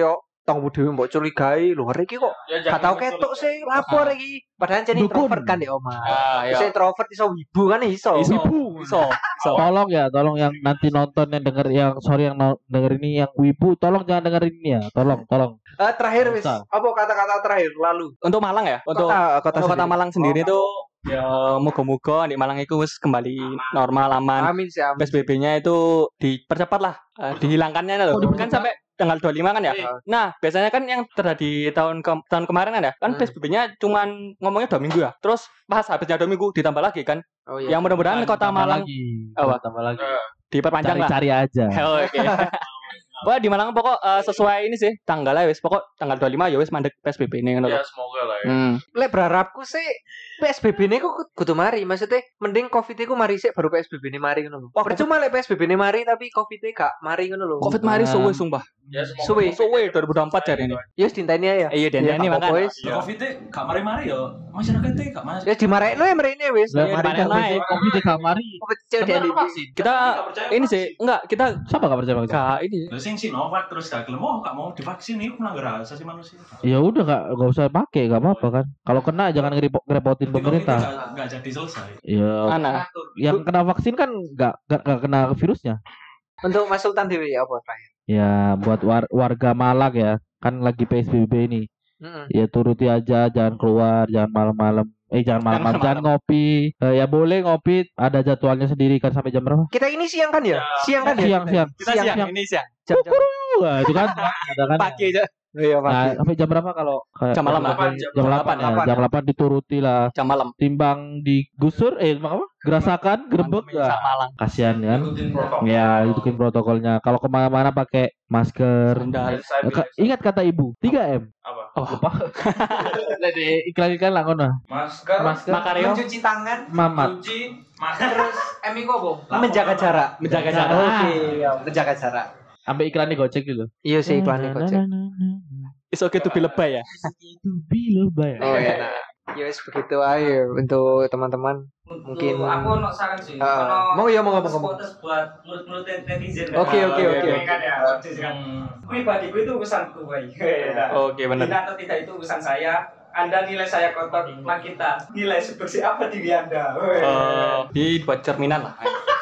tongmu dhewe mbok curigai lho iki kok Ya, gak tau ketok sih lapor iki. Padahal jadi Dukun. introvert kan di omah. ya. Bisa introvert iso wibu kan iso. Iso. Tolong yang nanti nonton yang denger yang denger ini yang wibu, tolong jangan dengerin ini ya. Tolong. Terakhir wis Bisa. apa kata-kata terakhir lalu Untuk Malang ya, untuk kota kota sendiri. Malang sendiri tuh ya moga-moga di Malang itu wis kembali normal aman. Amin sih amin. PSBB-nya itu dipercepat lah, dihilangkannya loh. Kan sampai tanggal 25 kan ya. Nah, biasanya kan yang terjadi tahun kemarin kan ya, kan PSBB-nya cuman ngomongnya 2 minggu ya. Terus pas habisnya 2 minggu ditambah lagi kan. Oh iya. Yang mudah-mudahan kota Malang Tambah lagi. diperpanjang lah. Cari-cari aja. Oh, oke. Wah, di Malang pokok sesuai ini sih tanggalnya wis pokok tanggal 25 ya wis mandek PSBB ini ngono Ya lho. semoga lah ya. Lek berharapku sih PSBB ini kok kudu mari, maksudnya mending Covid iku mari sik baru PSBB ini mari ngono lho. Percuma lek PSBB ini mari tapi Covid e gak mari ngono lho. Covid mari suwe sumpah. Ya semoga. Suwe. 2024 jari ini. Ya dinteni ya. Iya, dinteni apa-apa makanya. wis. Ya Covid gak mari-mari ya. Masyarakatnya gak mas. Ya dimarekno ya mrene wis. Lah, Iya, mari dimarahin Covid, naik. Covid gak mari. Covid cek di Kita ini sih enggak kita Siapa gak percaya vaksin? gak ini. Lah sing Sinovac terus gak gelem gak mau divaksin itu melanggar asasi manusia. Ya udah gak usah pakai, gak apa-apa kan. Kalau kena jangan ngerepotin pemerintah. Gak jadi selesai. Ya, Mana? yang kena vaksin kan gak kena virusnya. Untuk Mas Sultan Dewi apa terakhir? Ya buat warga Malang ya, kan lagi PSBB ini. Ya turuti aja, jangan keluar, jangan malam-malam. Jangan malam-malam, jangan ngopi. Ya boleh ngopi, ada jadwalnya sendiri kan sampai jam berapa? Kita ini siang kan ya? Siang kan ya? Siang. Kita siang ini siang. Jam-jam. Wah, itu kan ada kan. Pagi aja. Iya, Nah, sampai jam berapa kalau Jam malam lah. Jam 8 ya. Jam 8 dituruti lah. Jam malam. Timbang digusur apa? Gerasakan, gerebek Sak ya. Malang. Kasihan kan. Ikutin protokol. Ya, ituin protokolnya. Kalau kemana-mana pakai masker. Sandal. Ingat kata ibu, 3M. Apa? Lupa. Iklan-iklan lah ngono. Masker. Makario. Mencuci tangan, Mamat. Kunci. Masker. terus emi kok menjaga jarak. Menjaga jarak. Oke, ya, menjaga jarak. Sampai iklan Gojek gitu. Iya sih iklannya Gojek. It's okay to be lebay ya. Itu bilo bay. Oh iya. Nah. Ya wis begitu aja untuk teman-teman. Mungkin aku ono saran sih. mau ya mau ngomong. Spotters buat mulut-mulut netizen. Oke. Kan ya. Pribadiku itu urusanku, baik. Oke, benar. Tidak atau tidak itu urusan saya. Anda nilai saya kotor, maka kita nilai sebersih apa diri Anda. Dibuat cerminan lah.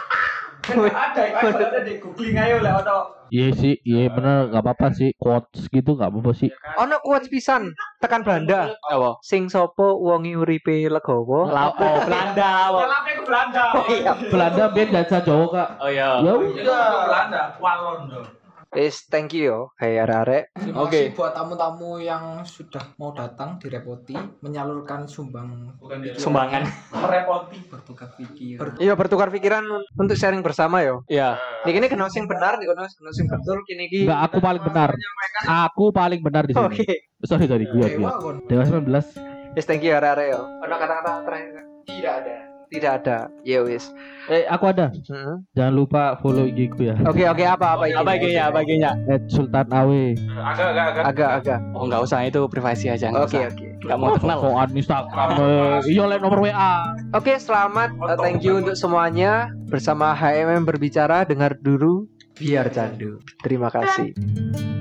Ada di googling ayo lah atau Iya sih, iya bener gak apa-apa sih. Quotes gitu gak apa-apa sih. Ono kuat pisan tekan Belanda. Apa? Sing sopo wongi uripe legowo. Lapo Belanda. Lape ke Belanda. Oh iya. Belanda band jasa Jawa kak. Oh iya. Ya Itu Belanda. Walon dong. Wis thank you yo. Hey arek. Terima Oke. kasih buat tamu-tamu yang sudah mau datang direpoti menyalurkan Sumbangan. Merepoti. bertukar pikir. Iya bertukar pikiran untuk sharing bersama yo. Iya. Niki kena sing benar, niki kena sing betul kini ki. Enggak, aku paling benar. Aku paling benar di sini. Oke. Sorry gue. Dewa kon. Dewa 19. Yes, thank you arek yo. Ono kata-kata terakhir? Tidak ada. Ya wis. Aku ada. Jangan lupa follow IG ku ya. Oke apa ini? Apa IG-nya? Sultan Awe. Agak. Oh, enggak usah, itu privasi aja. Oke. Enggak mau terkenal. Soal Instagram. Iya, like nomor WA. Oke, selamat. Thank you untuk semuanya. Bersama HMM berbicara, dengar dulu biar candu. Terima kasih.